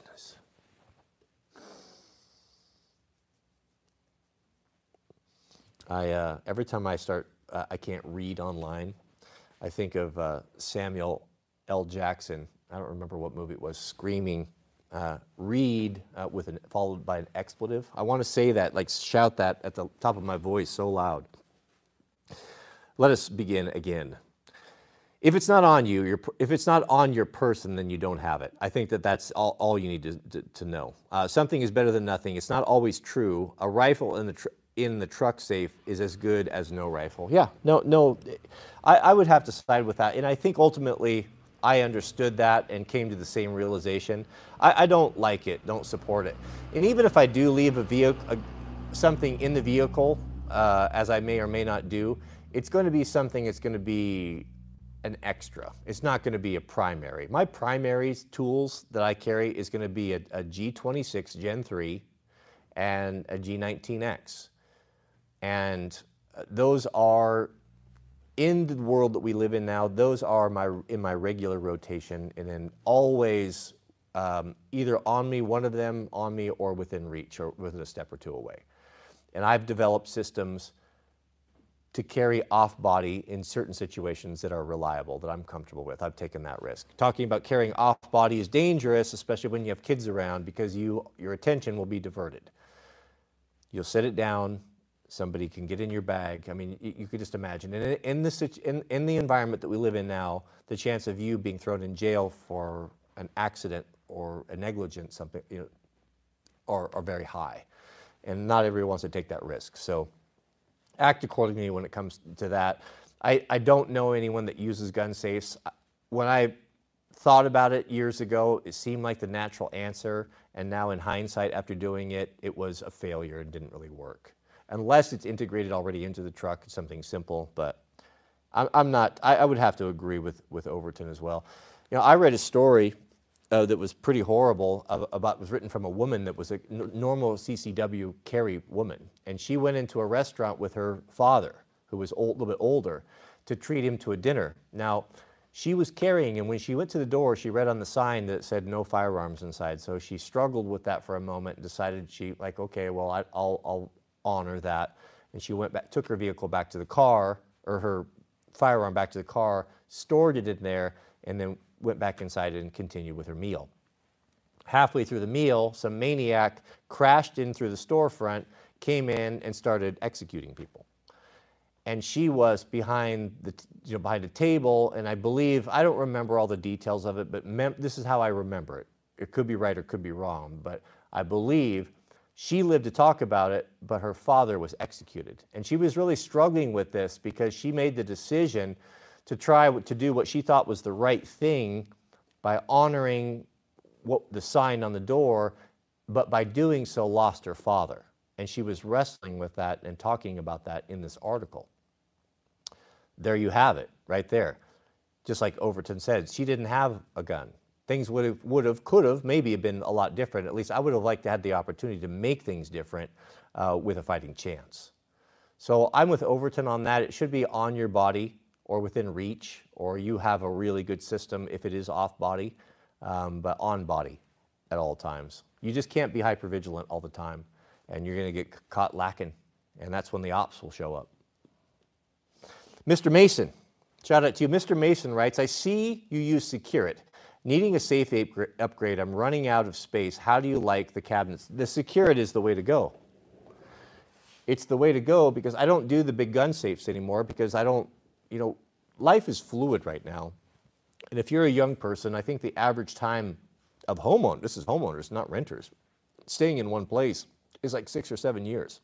Every time I can't read online, I think of Samuel L. Jackson. I don't remember what movie it was, screaming, read followed by an expletive. I want to say that, shout that at the top of my voice so loud. Let us begin again. If it's not on you, if it's not on your person, then you don't have it. I think that's all you need to know. Something is better than nothing. It's not always true. A rifle in the truck safe is as good as no rifle. Yeah, no. I would have to side with that, and I think ultimately I understood that and came to the same realization. I don't like it, don't support it, and even if I do leave something in the vehicle, as I may or may not do, it's going to be something that's going to be an extra. It's not going to be a primary. My primary tools that I carry is going to be a G26 Gen 3 and a G19X. And those are, in the world that we live in now, those are in my regular rotation, and then always either on me, one of them on me, or within reach, or within a step or two away. And I've developed systems to carry off-body in certain situations that are reliable, that I'm comfortable with. I've taken that risk. Talking about carrying off-body is dangerous, especially when you have kids around, because your attention will be diverted. You'll set it down, somebody can get in your bag. I mean, you could just imagine. And in the environment that we live in now, the chance of you being thrown in jail for an accident or a negligence, something, are very high. And not everyone wants to take that risk. So act accordingly when it comes to that. I don't know anyone that uses gun safes. When I thought about it years ago, it seemed like the natural answer, and now in hindsight, after doing it, it was a failure and didn't really work. Unless it's integrated already into the truck, it's something simple, but I would have to agree with Overton as well. I read a story that was pretty horrible. Was written from a woman that was a normal CCW carry woman, and she went into a restaurant with her father, who was a little bit older, to treat him to a dinner. Now, she was carrying, and when she went to the door, she read on the sign that said no firearms inside. So she struggled with that for a moment and decided okay, well, I'll honor that. And she went back, took her vehicle back to the car, or her firearm back to the car, stored it in there, and then went back inside and continued with her meal. Halfway through the meal, some maniac crashed in through the storefront, came in, and started executing people. And she was behind a table, and I believe, I don't remember all the details of it, but this is how I remember it. It could be right or could be wrong, but I believe she lived to talk about it, but her father was executed. And she was really struggling with this because she made the decision to try to do what she thought was the right thing by honoring the sign on the door, but by doing so lost her father. And she was wrestling with that and talking about that in this article. There you have it, right there. Just like Overton said, she didn't have a gun. Things could have, maybe have been a lot different. At least I would have liked to have the opportunity to make things different with a fighting chance. So I'm with Overton on that. It should be on your body or within reach, or you have a really good system if it is off body, but on body at all times. You just can't be hypervigilant all the time, and you're going to get caught lacking, and that's when the ops will show up. Mr. Mason, shout out to you. Mr. Mason writes, I see you use Secure-It. Needing a safe upgrade, I'm running out of space. How do you like the cabinets? The Secure-It is the way to go. It's the way to go because I don't do the big gun safes anymore because I don't, life is fluid right now. And if you're a young person, I think the average time of homeowners, this is homeowners, not renters, staying in one place is like 6 or 7 years.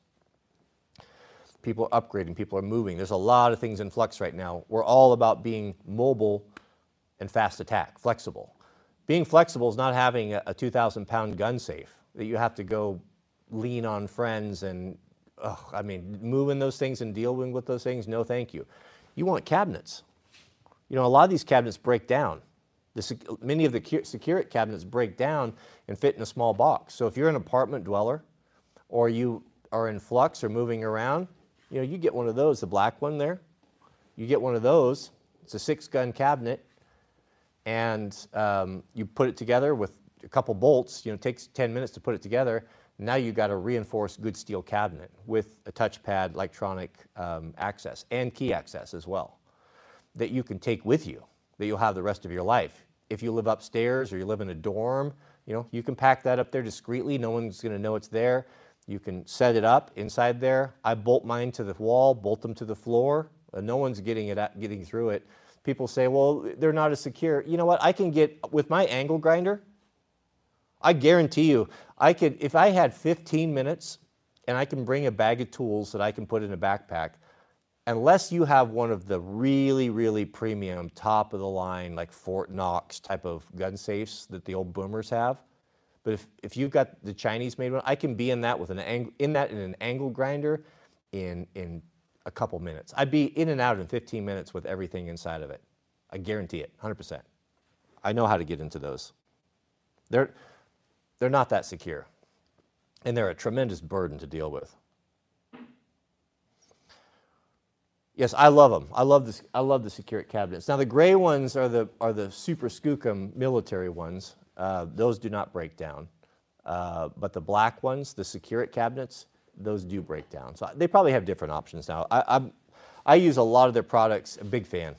People are upgrading, people are moving. There's a lot of things in flux right now. We're all about being mobile and fast attack, flexible. Being flexible is not having a 2,000-pound gun safe that you have to go lean on friends and, moving those things and dealing with those things, no thank you. You want cabinets. A lot of these cabinets break down. Many of the Secure-It cabinets break down and fit in a small box. So if you're an apartment dweller or you are in flux or moving around, you get one of those, the black one there. You get one of those. It's a 6-gun cabinet, and you put it together with a couple bolts. It takes 10 minutes to put it together. Now you've got a reinforced good steel cabinet with a touchpad, electronic access, and key access as well that you can take with you, that you'll have the rest of your life. If you live upstairs or you live in a dorm, you can pack that up there discreetly. No one's going to know it's there. You can set it up inside there. I bolt mine to the wall, bolt them to the floor. No one's getting through it. People say, well, they're not as secure. You know what? I can get, with my angle grinder, I guarantee you, if I had 15 minutes and I can bring a bag of tools that I can put in a backpack, unless you have one of the really, really premium, top of the line, like Fort Knox type of gun safes that the old boomers have, but if you've got the Chinese made one, I can be in that with in an angle grinder in a couple minutes. I'd be in and out in 15 minutes with everything inside of it. I guarantee it, 100%. I know how to get into those. They're not that secure, and they're a tremendous burden to deal with. Yes, I love them. I love the Secure-It cabinets. Now the gray ones are the Super Skookum military ones. Those do not break down, but the black ones, the Secure-It cabinets, those do break down. So they probably have different options now. I use a lot of their products. A big fan.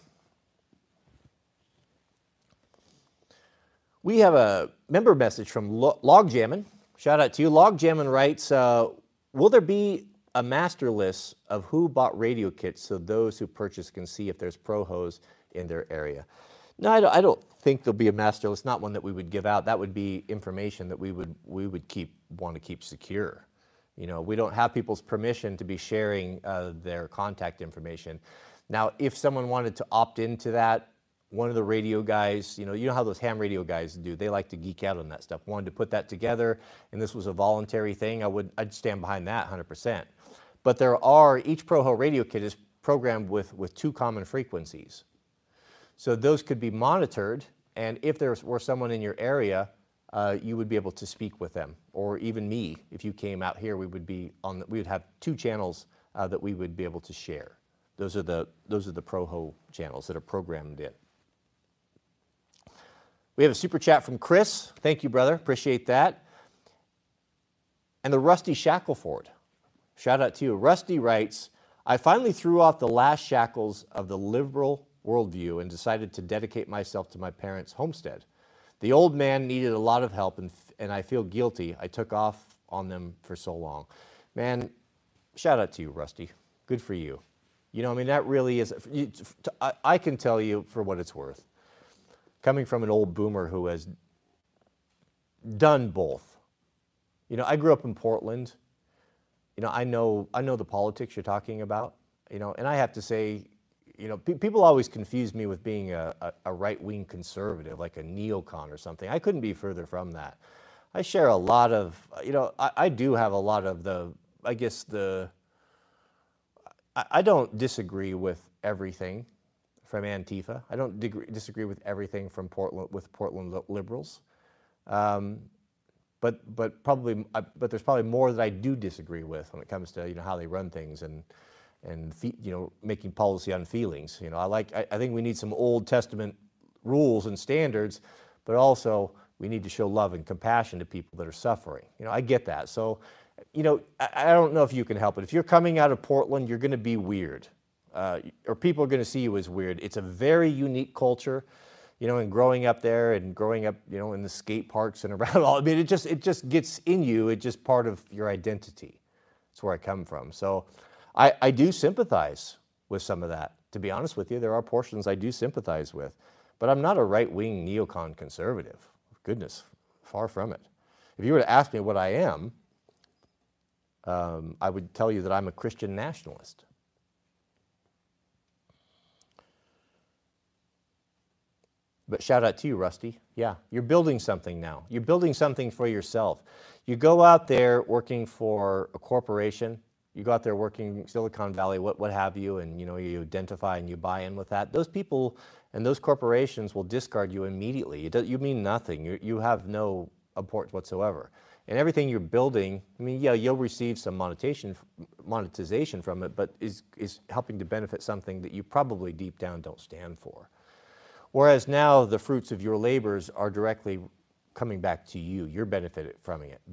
We have a member message from Logjammin'. Shout out to you. Logjammin' writes, will there be a master list of who bought radio kits so those who purchase can see if there's pro-hose in their area? No, I don't think there'll be a master list, not one that we would give out. That would be information that we would want to keep secure. We don't have people's permission to be sharing their contact information. Now, if someone wanted to opt into that, one of the radio guys, you know how those ham radio guys do, they like to geek out on that stuff, wanted to put that together, and this was a voluntary thing, I'd stand behind that 100%. But each ProHo radio kit is programmed with 2 common frequencies. So those could be monitored And if there were someone in your area, you would be able to speak with them, or even me. If you came out here, we would have 2 channels that we would be able to share. Those are the Proho channels that are programmed in. We have a super chat from Chris. Thank you, brother. Appreciate that. And the Rusty Shackleford. Shout out to you. Rusty writes, I finally threw off the last shackles of the liberal worldview and decided to dedicate myself to my parents' homestead. The old man needed a lot of help, and I feel guilty I took off on them for so long. Man, shout out to you, Rusty. Good for you. You know, I mean, that really is, I can tell you for what it's worth. Coming from an old boomer who has done both. You know, I grew up in Portland. You know, I know the politics you're talking about, you know, and I have to say, you know, people always confuse me with being a right-wing conservative, like a neocon or something. I couldn't be further from that. I share a lot of, you know, I do have a lot of I don't disagree with everything from Antifa. I don't disagree with everything from Portland liberals. But there's probably more that I do disagree with when it comes to, you know, how they run things and you know, making policy on feelings. You know, I think we need some Old Testament rules and standards, but also we need to show love and compassion to people that are suffering. You know, I get that. So, you know, I don't know if you can help it. If you're coming out of Portland, you're going to be weird, or people are going to see you as weird. It's a very unique culture. You know, and growing up there and growing up, you know, in the skate parks and around all, I mean, it just gets in you. It's just part of your identity. That's where I come from. So I do sympathize with some of that. To be honest with you, there are portions I do sympathize with. But I'm not a right-wing neocon conservative. Goodness, far from it. If you were to ask me what I am, I would tell you that I'm a Christian nationalist. But shout out to you, Rusty. Yeah, you're building something now. You're building something for yourself. You go out there working for a corporation. You go out there working Silicon Valley, what have you, and you know, you identify and you buy in with that. Those people and those corporations will discard you immediately. You mean nothing. You have no importance whatsoever. And everything you're building, I mean, yeah, you'll receive some monetization from it, but is helping to benefit something that you probably deep down don't stand for. Whereas now the fruits of your labors are directly coming back to you. You're benefiting from it,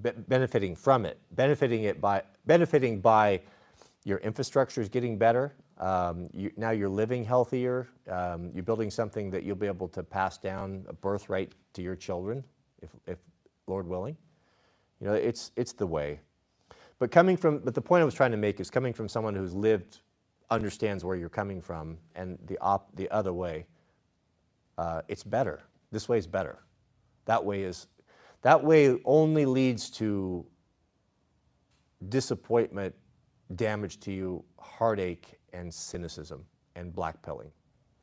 benefiting by your infrastructure is getting better. Now you're living healthier. You're building something that you'll be able to pass down a birthright to your children, if Lord willing. You know, it's the way. But the point I was trying to make is coming from someone who's lived, understands where you're coming from, and the other way. It's better. This way is better. That way only leads to disappointment, damage to you, heartache, and cynicism, and blackpilling.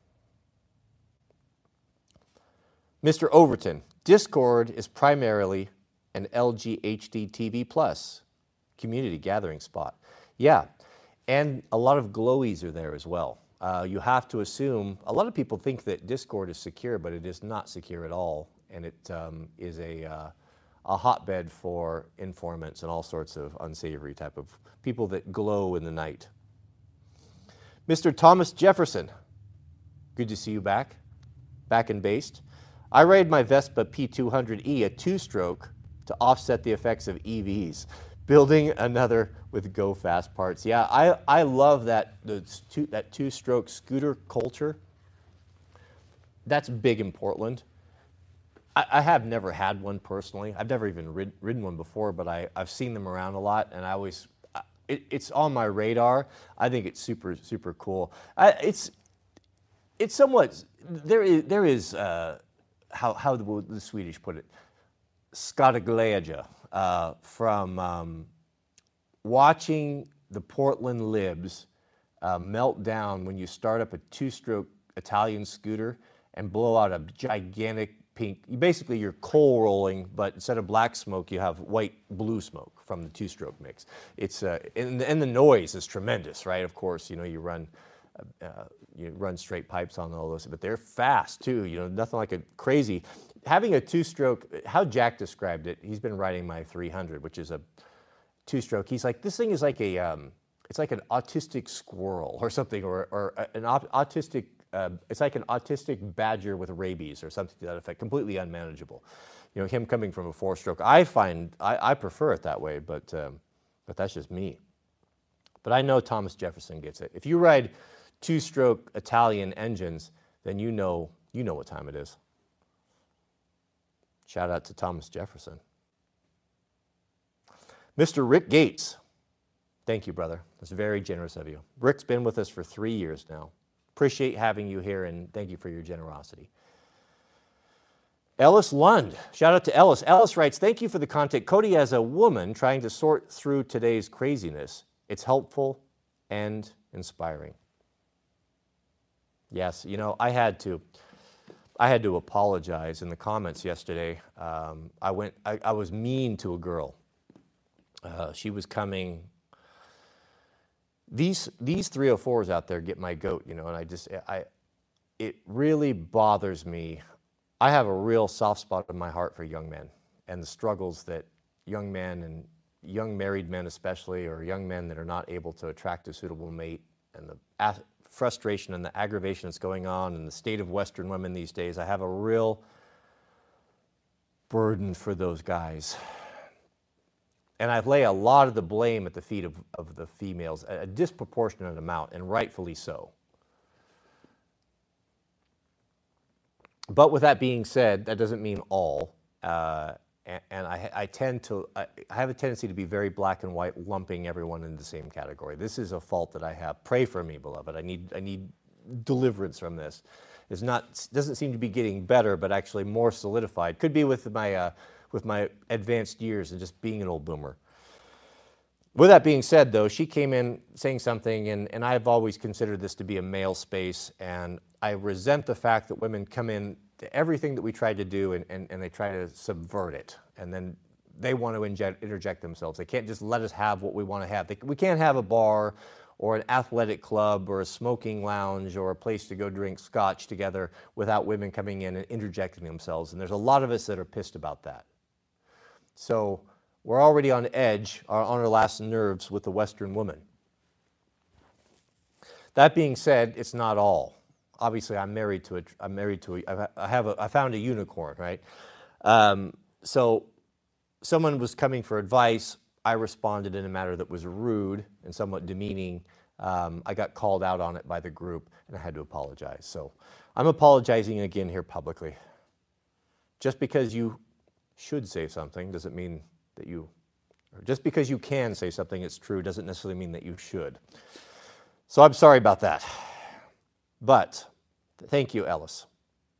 Mr. Overton, Discord is primarily an LG HD TV Plus community gathering spot. Yeah, and a lot of glowies are there as well. You have to assume, a lot of people think that Discord is secure, but it is not secure at all. And it is a hotbed for informants and all sorts of unsavory type of people that glow in the night. Mr. Thomas Jefferson, good to see you back and based. I ride my Vespa P200E, a two-stroke, to offset the effects of EVs. Building another with Go Fast parts. Yeah, I love that two-stroke scooter culture. That's big in Portland. I have never had one personally. I've never even ridden one before, but I've seen them around a lot, and it's on my radar. I think it's super, super cool. It's somewhat, there is how the Swedish put it, skadeglädje, from watching the Portland libs melt down when you start up a two-stroke Italian scooter and blow out a gigantic pink. Basically, you're coal rolling, but instead of black smoke, you have white-blue smoke from the two-stroke mix. It's and the noise is tremendous, right? Of course, you know, you run you run straight pipes on all those, but they're fast too. Nothing like a crazy. Having a two-stroke, how Jack described it, he's been riding my 300, which is a two-stroke. He's like, this thing is like it's like an autistic squirrel or something, or an autistic. It's like an autistic badger with rabies or something to that effect. Completely unmanageable. Him coming from a four-stroke, I prefer it that way, but that's just me. But I know Thomas Jefferson gets it. If you ride two-stroke Italian engines, then you know what time it is. Shout out to Thomas Jefferson. Mr. Rick Gates. Thank you, brother. That's very generous of you. Rick's been with us for 3 years now. Appreciate having you here, and thank you for your generosity. Ellis Lund. Shout out to Ellis. Ellis writes, thank you for the content. Cody, as a woman trying to sort through today's craziness, it's helpful and inspiring. Yes, I had to apologize in the comments yesterday. I was mean to a girl. She was coming. These 304s out there get my goat, and it really bothers me. I have a real soft spot in my heart for young men and the struggles that young men and young married men especially, or young men that are not able to attract a suitable mate, and the frustration and the aggravation that's going on in the state of Western women these days. I have a real burden for those guys. And I lay a lot of the blame at the feet of the females, a disproportionate amount, and rightfully so. But with that being said, that doesn't mean all. And I have a tendency to be very black and white, lumping everyone in the same category. This is a fault that I have. Pray for me, beloved. I need deliverance from this. Doesn't seem to be getting better, but actually more solidified. Could be with my advanced years and just being an old boomer. With that being said, though, she came in saying something, and I've always considered this to be a male space, and I resent the fact that women come in to everything that we try to do, and they try to subvert it, and then they want to interject themselves. They can't just let us have what we want to have. We can't have a bar or an athletic club or a smoking lounge or a place to go drink scotch together without women coming in and interjecting themselves, and there's a lot of us that are pissed about that. So we're already on edge, on our last nerves with the Western woman. That being said, it's not all. Obviously, I found a unicorn, right? So someone was coming for advice. I responded in a manner that was rude and somewhat demeaning. I got called out on it by the group, and I had to apologize. So I'm apologizing again here publicly. Just because you should say something doesn't mean that or just because you can say something it's true doesn't necessarily mean that you should. So I'm sorry about that. But thank you, Ellis.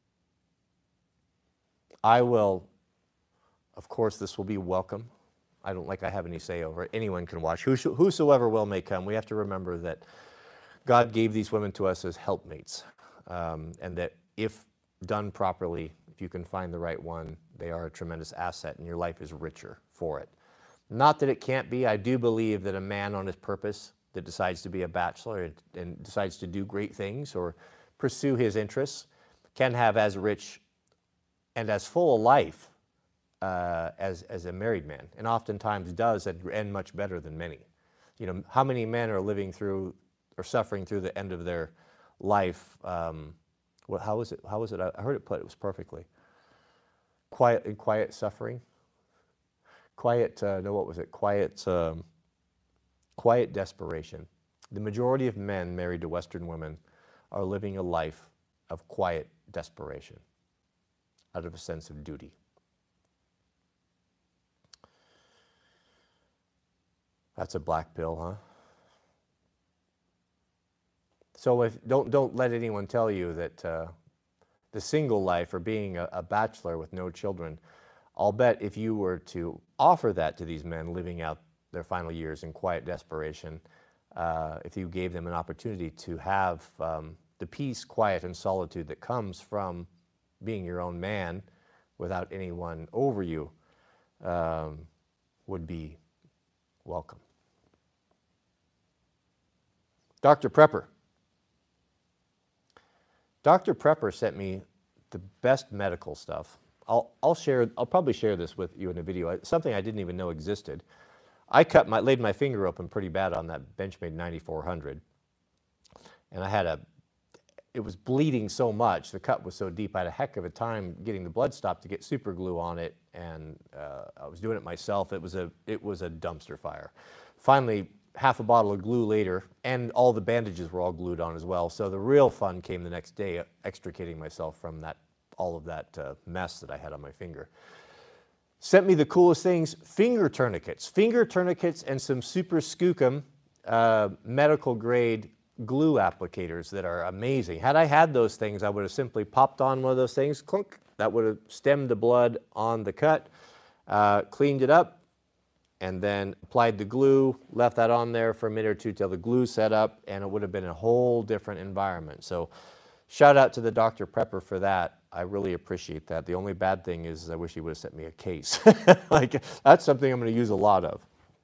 I will, of course, this will be welcome. I don't like I have any say over it. Anyone can watch. Whosoever will may come. We have to remember that God gave these women to us as helpmates, and that if done properly, if you can find the right one, they are a tremendous asset, and your life is richer for it. Not that it can't be. I do believe that a man on his purpose that decides to be a bachelor and decides to do great things or pursue his interests can have as rich and as full a life as a married man, and oftentimes does end much better than many. How many men are living through or suffering through the end of their life? How was it? I heard it was perfectly. Quiet suffering. Quiet desperation. The majority of men married to Western women are living a life of quiet desperation out of a sense of duty. That's a black pill, huh? So don't let anyone tell you that the single life or being a bachelor with no children, I'll bet if you were to offer that to these men living out their final years in quiet desperation, if you gave them an opportunity to have the peace, quiet, and solitude that comes from being your own man without anyone over you, would be welcome. Dr. Prepper. Dr. Prepper sent me the best medical stuff. I'll probably share this with you in a video. It's something I didn't even know existed. I laid my finger open pretty bad on that Benchmade 9400, and it was bleeding so much. The cut was so deep. I had a heck of a time getting the blood stopped to get super glue on it, and I was doing it myself. It was a dumpster fire. Finally, half a bottle of glue later, and all the bandages were all glued on as well. So the real fun came the next day, extricating myself from all of that mess that I had on my finger. Sent me the coolest things, finger tourniquets and some super skookum medical grade glue applicators that are amazing. Had I had those things, I would have simply popped on one of those things, clunk, that would have stemmed the blood on the cut, cleaned it up, and then applied the glue, left that on there for a minute or two till the glue set up, and it would have been a whole different environment. So shout out to the Dr. Prepper for that. I really appreciate that. The only bad thing is I wish he would have sent me a case. Like, that's something I'm going to use a lot of.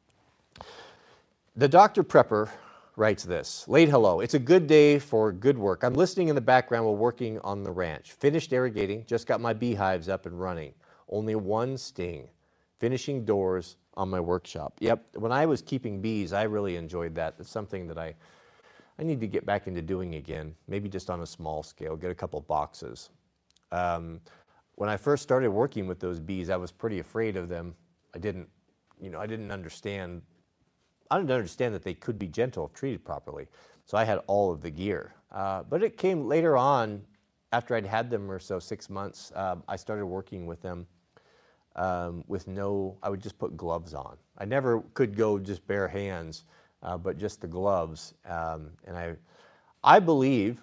The Dr. Prepper writes this, late hello. It's a good day for good work. I'm listening in the background while working on the ranch. Finished irrigating, just got my beehives up and running. Only one sting. Finishing doors on my workshop. Yep, when I was keeping bees, I really enjoyed that. It's something that I need to get back into doing again, maybe just on a small scale, get a couple boxes. When I first started working with those bees, I was pretty afraid of them. I didn't understand that they could be gentle if treated properly. So I had all of the gear. But it came later on, after I'd had them or so, 6 months, I started working with them I would just put gloves on. I never could go just bare hands, but just the gloves. And I believe,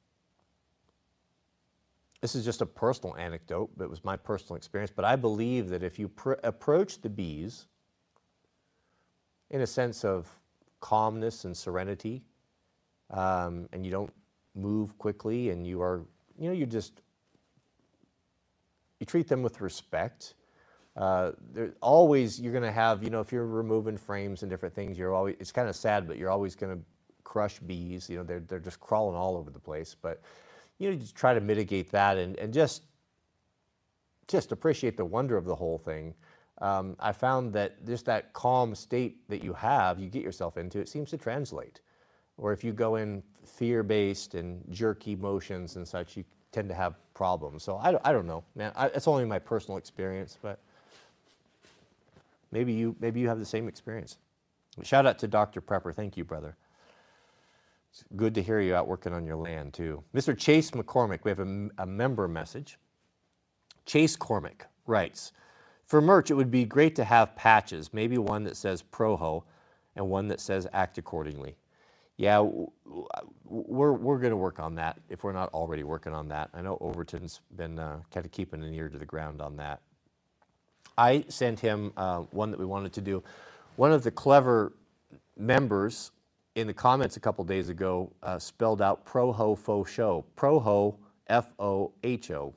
this is just a personal anecdote, but it was my personal experience, but I believe that if you approach the bees in a sense of calmness and serenity, and you don't move quickly, and you treat them with respect. You're going to have, if you're removing frames and different things, it's kind of sad, but you're always going to crush bees. They're just crawling all over the place. But, just try to mitigate that and just appreciate the wonder of the whole thing. I found that just that calm state that you get yourself into, it seems to translate. Or if you go in fear-based and jerky motions and such, you tend to have problems. So I don't know, man. It's only my personal experience, but maybe you have the same experience. Shout out to Dr. Prepper. Thank you, brother. It's good to hear you out working on your land, too. Mr. Chase McCormick, we have a member message. Chase Cormick writes, for merch, it would be great to have patches, maybe one that says Proho and one that says Act Accordingly. Yeah, we're going to work on that if we're not already working on that. I know Overton's been kind of keeping an ear to the ground on that. I sent him one that we wanted to do. One of the clever members in the comments a couple days ago spelled out Proho Faux Show. Proho, F-O-H-O.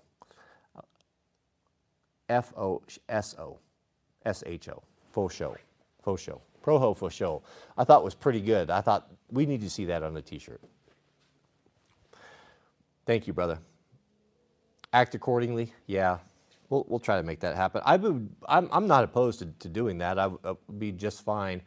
F-O-S-O. S-H-O. Faux Show. Faux Show. Proho Faux Show. I thought was pretty good. I thought we need to see that on a t-shirt. Thank you, brother. Act Accordingly. Yeah. We'll try to make that happen. I'm not opposed to doing that. I would be just fine.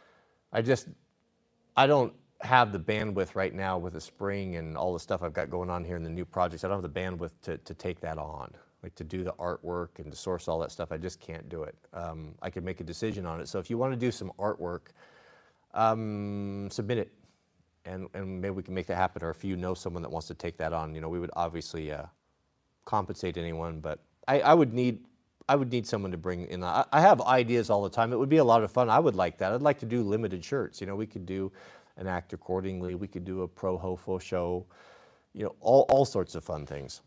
I don't have the bandwidth right now with the spring and all the stuff I've got going on here in the new projects. I don't have the bandwidth to take that on, like to do the artwork and to source all that stuff. I just can't do it. I could make a decision on it. So if you want to do some artwork, submit it, and maybe we can make that happen. Or if you know someone that wants to take that on, we would obviously compensate anyone, but I would need someone to bring in. I have ideas all the time. It would be a lot of fun. I would like that. I'd like to do limited shirts. We could do an Act Accordingly. We could do a Proho Faux Show. All sorts of fun things.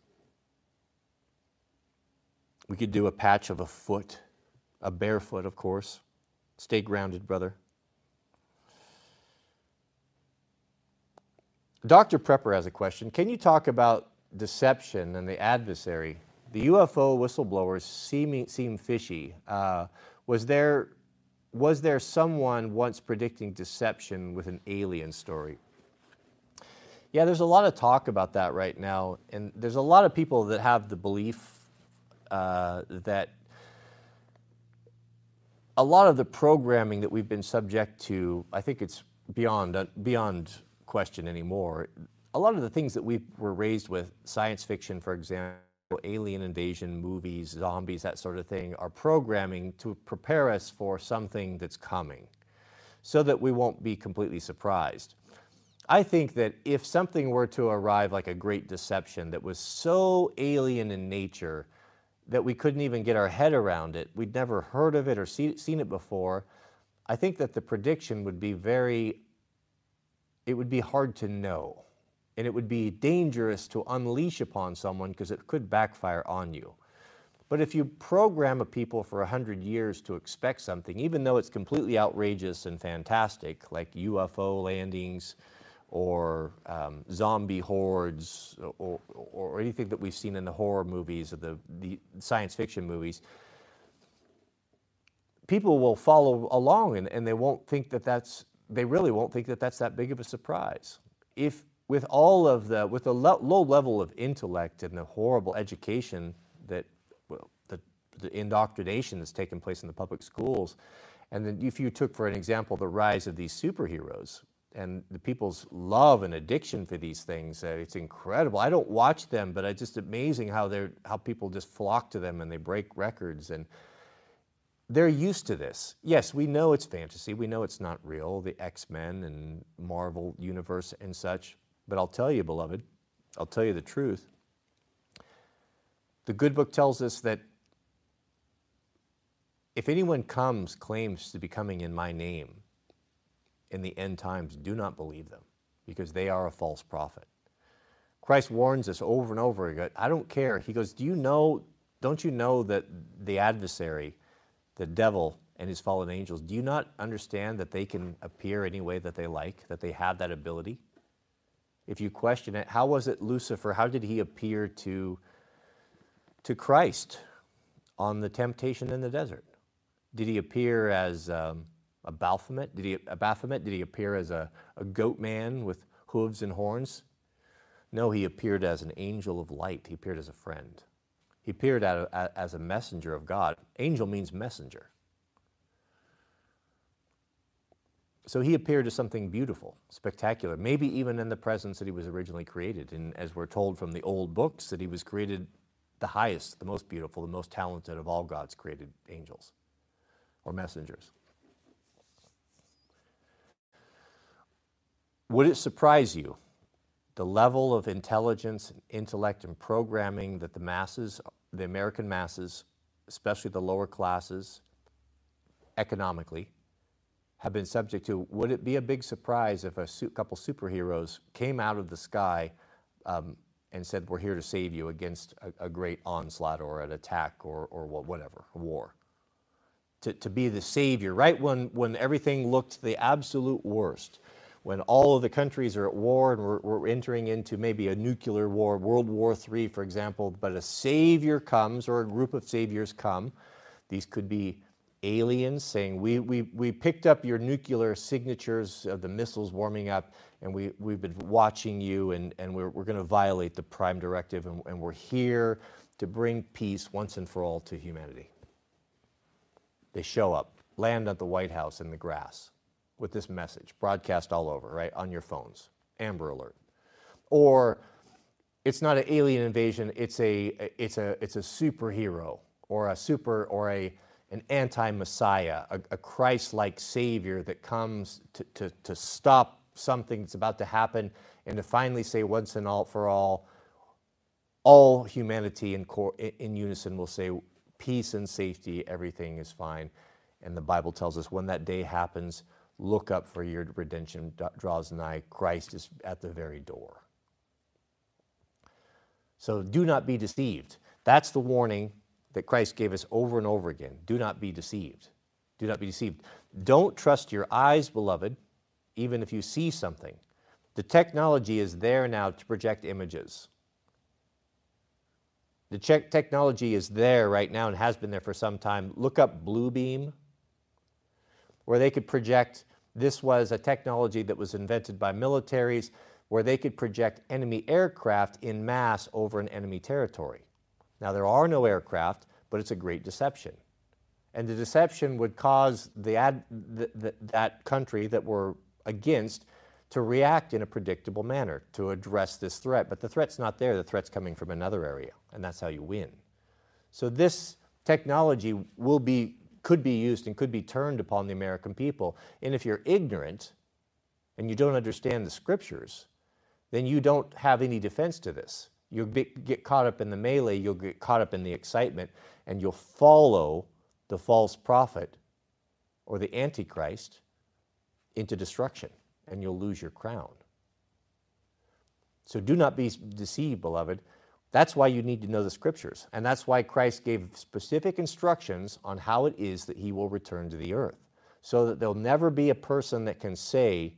We could do a patch of a foot, a bare foot, of course. Stay grounded, brother. Dr. Prepper has a question. Can you talk about deception and the adversary? The UFO whistleblowers seem fishy. Was there someone once predicting deception with an alien story? Yeah, there's a lot of talk about that right now, and there's a lot of people that have the belief that a lot of the programming that we've been subject to, I think it's beyond question anymore. A lot of the things that we were raised with, science fiction, for example, alien invasion movies, zombies, that sort of thing, are programming to prepare us for something that's coming so that we won't be completely surprised. I think that if something were to arrive like a great deception that was so alien in nature that we couldn't even get our head around it, we'd never heard of it or seen it before, I think that the prediction would be it would be hard to know. And it would be dangerous to unleash upon someone because it could backfire on you. But if you program a people for 100 years to expect something, even though it's completely outrageous and fantastic, like UFO landings or zombie hordes or anything that we've seen in the horror movies or the science fiction movies, people will follow along and they won't think they really won't think that that's that big of a surprise. With the low level of intellect and the horrible education that, the indoctrination that's taken place in the public schools, and then if you took, for an example, the rise of these superheroes and the people's love and addiction for these things, it's incredible. I don't watch them, but it's just amazing how people just flock to them and they break records, and they're used to this. Yes, we know it's fantasy. We know it's not real, the X-Men and Marvel universe and such. But I'll tell you, beloved, I'll tell you the truth. The good book tells us that if anyone claims to be coming in my name in the end times, do not believe them, because they are a false prophet. Christ warns us over and over again. I don't care. He goes, don't you know that the adversary, the devil, and his fallen angels, do you not understand that they can appear any way that they like, that they have that ability? If you question it, how was it Lucifer, how did he appear to Christ on the temptation in the desert? Did he appear as a Baphomet? Did he appear as a goat man with hooves and horns? No, he appeared as an angel of light. He appeared as a friend. He appeared as a messenger of God. Angel means messenger. So he appeared as something beautiful, spectacular, maybe even in the presence that he was originally created. And as we're told from the old books, that he was created the highest, the most beautiful, the most talented of all God's created angels or messengers. Would it surprise you the level of intelligence, and intellect, and programming that the American masses, especially the lower classes, economically, have been subject to? Would it be a big surprise if a couple superheroes came out of the sky and said, we're here to save you against a great onslaught or an attack or whatever, a war? To be the savior, right when everything looked the absolute worst, when all of the countries are at war and we're entering into maybe a nuclear war, World War III, for example, but a savior comes, or a group of saviors come. These could be aliens saying, we picked up your nuclear signatures of the missiles warming up, and we've been watching you, and we're going to violate the Prime Directive, and we're here to bring peace once and for all to humanity. They show up, land at the White House in the grass with this message, broadcast all over, right, on your phones, Amber Alert. Or it's not an alien invasion, it's a superhero, or an anti-Messiah, a Christ-like Savior that comes to stop something that's about to happen and to finally say once and for all humanity in unison will say, peace and safety, everything is fine. And the Bible tells us when that day happens, look up, for your redemption draws nigh. Christ is at the very door. So do not be deceived. That's the warning that Christ gave us over and over again. Do not be deceived. Do not be deceived. Don't trust your eyes, beloved, even if you see something. The technology is there now to project images. The technology is there right now and has been there for some time. Look up Bluebeam, where they could project. This was a technology that was invented by militaries where they could project enemy aircraft in mass over an enemy territory. Now, there are no aircraft, but it's a great deception. And the deception would cause that country that we're against to react in a predictable manner to address this threat. But the threat's not there. The threat's coming from another area, and that's how you win. So this technology could be used and could be turned upon the American people. And if you're ignorant and you don't understand the scriptures, then you don't have any defense to this. You'll get caught up in the melee, you'll get caught up in the excitement, and you'll follow the false prophet or the Antichrist into destruction, and you'll lose your crown. So do not be deceived, beloved. That's why you need to know the scriptures, and that's why Christ gave specific instructions on how it is that he will return to the earth, so that there'll never be a person that can say,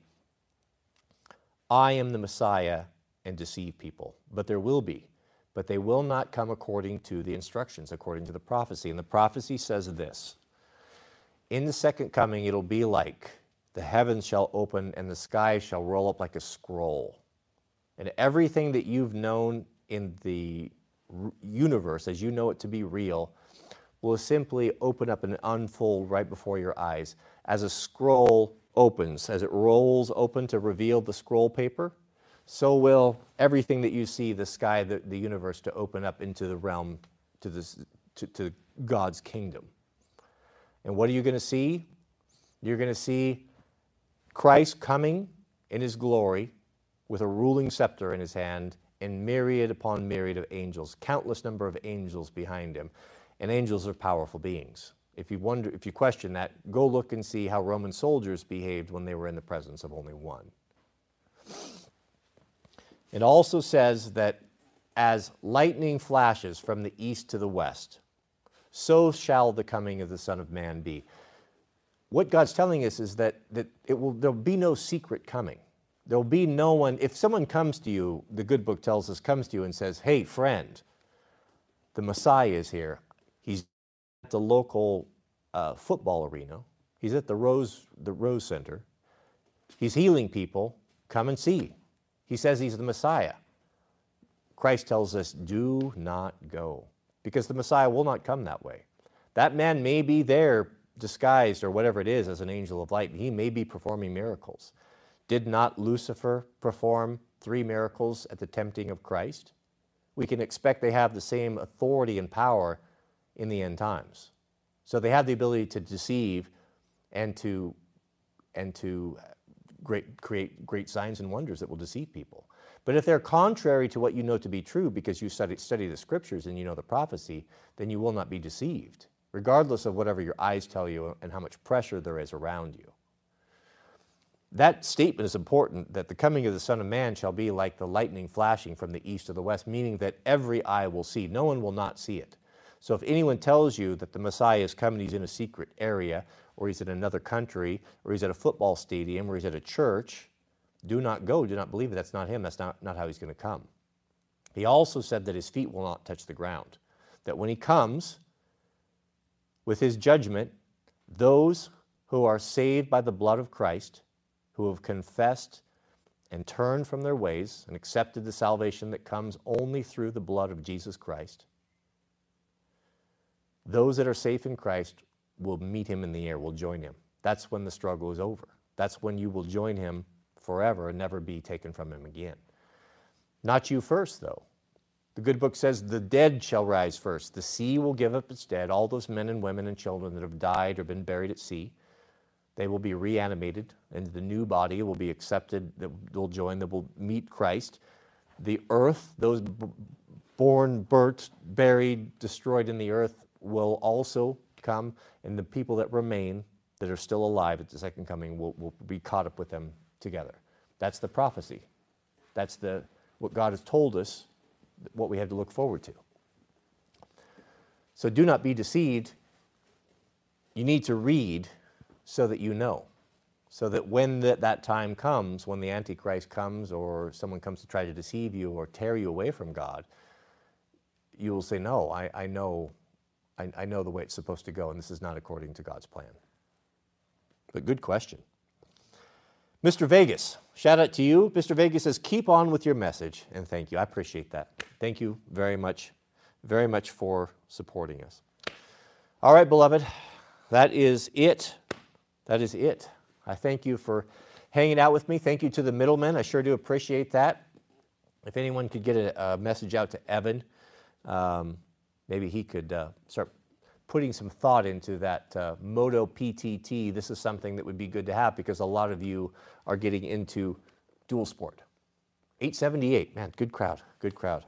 I am the Messiah, and deceive people. But there will be. But they will not come according to the instructions, according to the prophecy. And the prophecy says this: in the second coming, it'll be like the heavens shall open and the sky shall roll up like a scroll. And everything that you've known in the universe, as you know it to be real, will simply open up and unfold right before your eyes. As a scroll opens, as it rolls open to reveal the scroll paper, so will everything that you see, the sky, the universe, to open up into the realm, to God's kingdom. And what are you going to see? You're going to see Christ coming in his glory with a ruling scepter in his hand and myriad upon myriad of angels, countless number of angels behind him. And angels are powerful beings. If you question that, go look and see how Roman soldiers behaved when they were in the presence of only one. It also says that as lightning flashes from the east to the west, so shall the coming of the Son of Man be. What God's telling us is that there'll be no secret coming. There'll be no one, if someone comes to you, the good book tells us, comes to you and says, hey, friend, the Messiah is here. He's at the local football arena. He's at the Rose Center. He's healing people. Come and see. He says he's the Messiah. Christ tells us, do not go, because the Messiah will not come that way. That man may be there disguised or whatever it is as an angel of light, and he may be performing miracles. Did not Lucifer perform 3 miracles at the tempting of Christ? We can expect they have the same authority and power in the end times. So they have the ability to deceive and to create great signs and wonders that will deceive people. But if they're contrary to what you know to be true because you study the scriptures and you know the prophecy, then you will not be deceived, regardless of whatever your eyes tell you and how much pressure there is around you. That statement is important, that the coming of the Son of Man shall be like the lightning flashing from the east to the west, meaning that every eye will see. No one will not see it. So if anyone tells you that the Messiah is coming, he's in a secret area, or he's in another country, or he's at a football stadium, or he's at a church, do not go, do not believe it. That's not him. That's not how he's going to come. He also said that his feet will not touch the ground, that when he comes with his judgment, those who are saved by the blood of Christ, who have confessed and turned from their ways and accepted the salvation that comes only through the blood of Jesus Christ, those that are safe in Christ will meet him in the air, will join him. That's when the struggle is over. That's when you will join him forever and never be taken from him again. Not you first, though. The good book says the dead shall rise first. The sea will give up its dead. All those men and women and children that have died or been buried at sea, they will be reanimated, and the new body will be accepted, that will join, that will meet Christ. The earth, those born, burnt, buried, destroyed in the earth, will also come, and the people that remain, that are still alive at the second coming, will be caught up with them together. That's the prophecy. That's what God has told us, what we have to look forward to. So do not be deceived. You need to read so that you know, so that when that time comes, when the Antichrist comes or someone comes to try to deceive you or tear you away from God, you will say, no, I know the way it's supposed to go, and this is not according to God's plan. But good question. Mr. Vegas, shout out to you. Mr. Vegas says, keep on with your message, and thank you. I appreciate that. Thank you very much for supporting us. All right, beloved, that is it. That is it. I thank you for hanging out with me. Thank you to the middlemen. I sure do appreciate that. If anyone could get a message out to Evan, maybe he could start putting some thought into that Moto PTT. This is something that would be good to have because a lot of you are getting into dual sport. 878, man, good crowd, good crowd.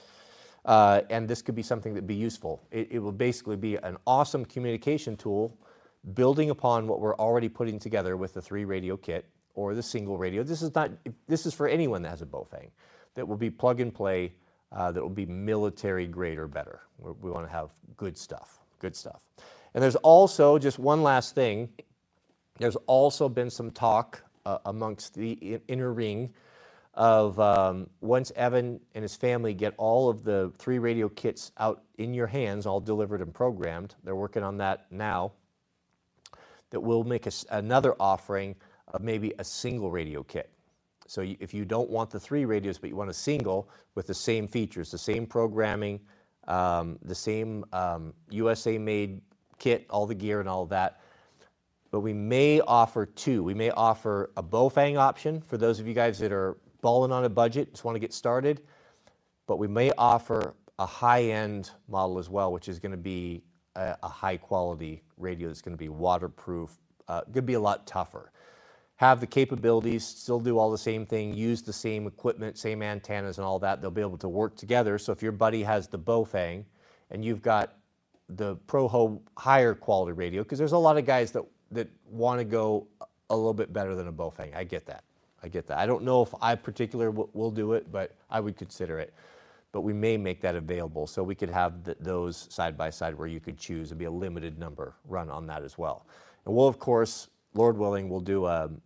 And this could be something that would be useful. It will basically be an awesome communication tool building upon what we're already putting together with the 3-radio kit or the single radio. This is for anyone that has a Baofeng that will be plug and play, that will be military grade or better. We want to have good stuff, good stuff. And there's also, just one last thing, there's also been some talk amongst the inner ring of once Evan and his family get all of the 3-radio kits out in your hands, all delivered and programmed, they're working on that now, that we'll make another offering of maybe a single radio kit. So if you don't want the 3 radios, but you want a single with the same features, the same programming, the same USA-made kit, all the gear and all of that, but we may offer 2. We may offer a Baofeng option for those of you guys that are balling on a budget, just want to get started, but we may offer a high-end model as well, which is going to be a high-quality radio that's going to be waterproof, going to be a lot tougher. Have the capabilities, still do all the same thing, use the same equipment, same antennas and all that. They'll be able to work together. So if your buddy has the Baofeng and you've got the Proho higher quality radio, because there's a lot of guys that want to go a little bit better than a Baofeng. I get that. I get that. I don't know if I particularly will do it, but I would consider it. But we may make that available so we could have those side by side where you could choose and be a limited number run on that as well. And we'll, of course, Lord willing, we'll do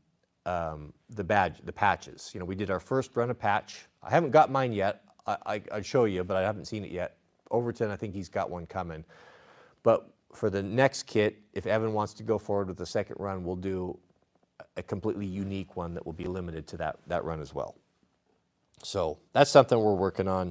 the patches. You know, we did our first run of patch. I haven't got mine yet. I'd show you, but I haven't seen it yet. Overton, I think he's got one coming. But for the next kit, if Evan wants to go forward with the second run, we'll do a completely unique one that will be limited to that run as well. So that's something we're working on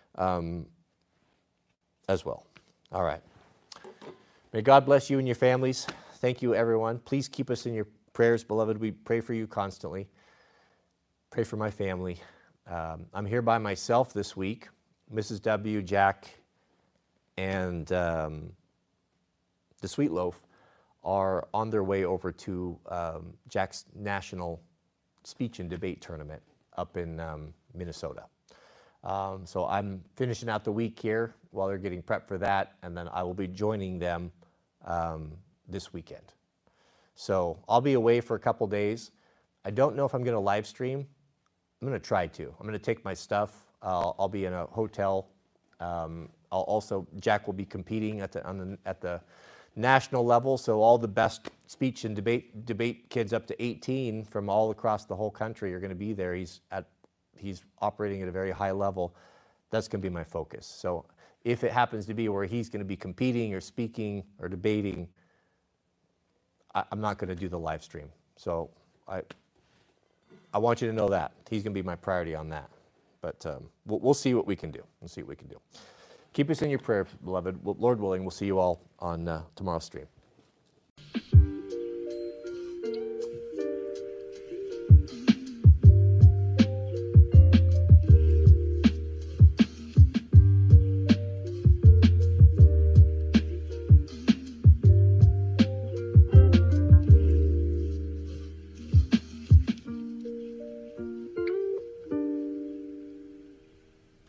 as well. All right. May God bless you and your families. Thank you, everyone. Please keep us in your prayers, beloved. We pray for you constantly. Pray for my family. I'm here by myself this week. Mrs. W, Jack, and the Sweet Loaf are on their way over to Jack's national speech and debate tournament up in Minnesota. So I'm finishing out the week here while they're getting prepped for that, and then I will be joining them this weekend. So I'll be away for a couple days. I don't know if I'm going to live stream. I'm going to try to. I'm going to take my stuff. I'll be in a hotel. Jack will be competing at the national level, so all the best speech and debate kids up to 18 from all across the whole country are going to be there. He's operating at a very high level. That's going to be my focus. So if it happens to be where he's going to be competing or speaking or debating, I'm not going to do the live stream. So I want you to know that. He's going to be my priority on that. But we'll see what we can do. We'll see what we can do. Keep us in your prayer, beloved. Lord willing, we'll see you all on tomorrow's stream.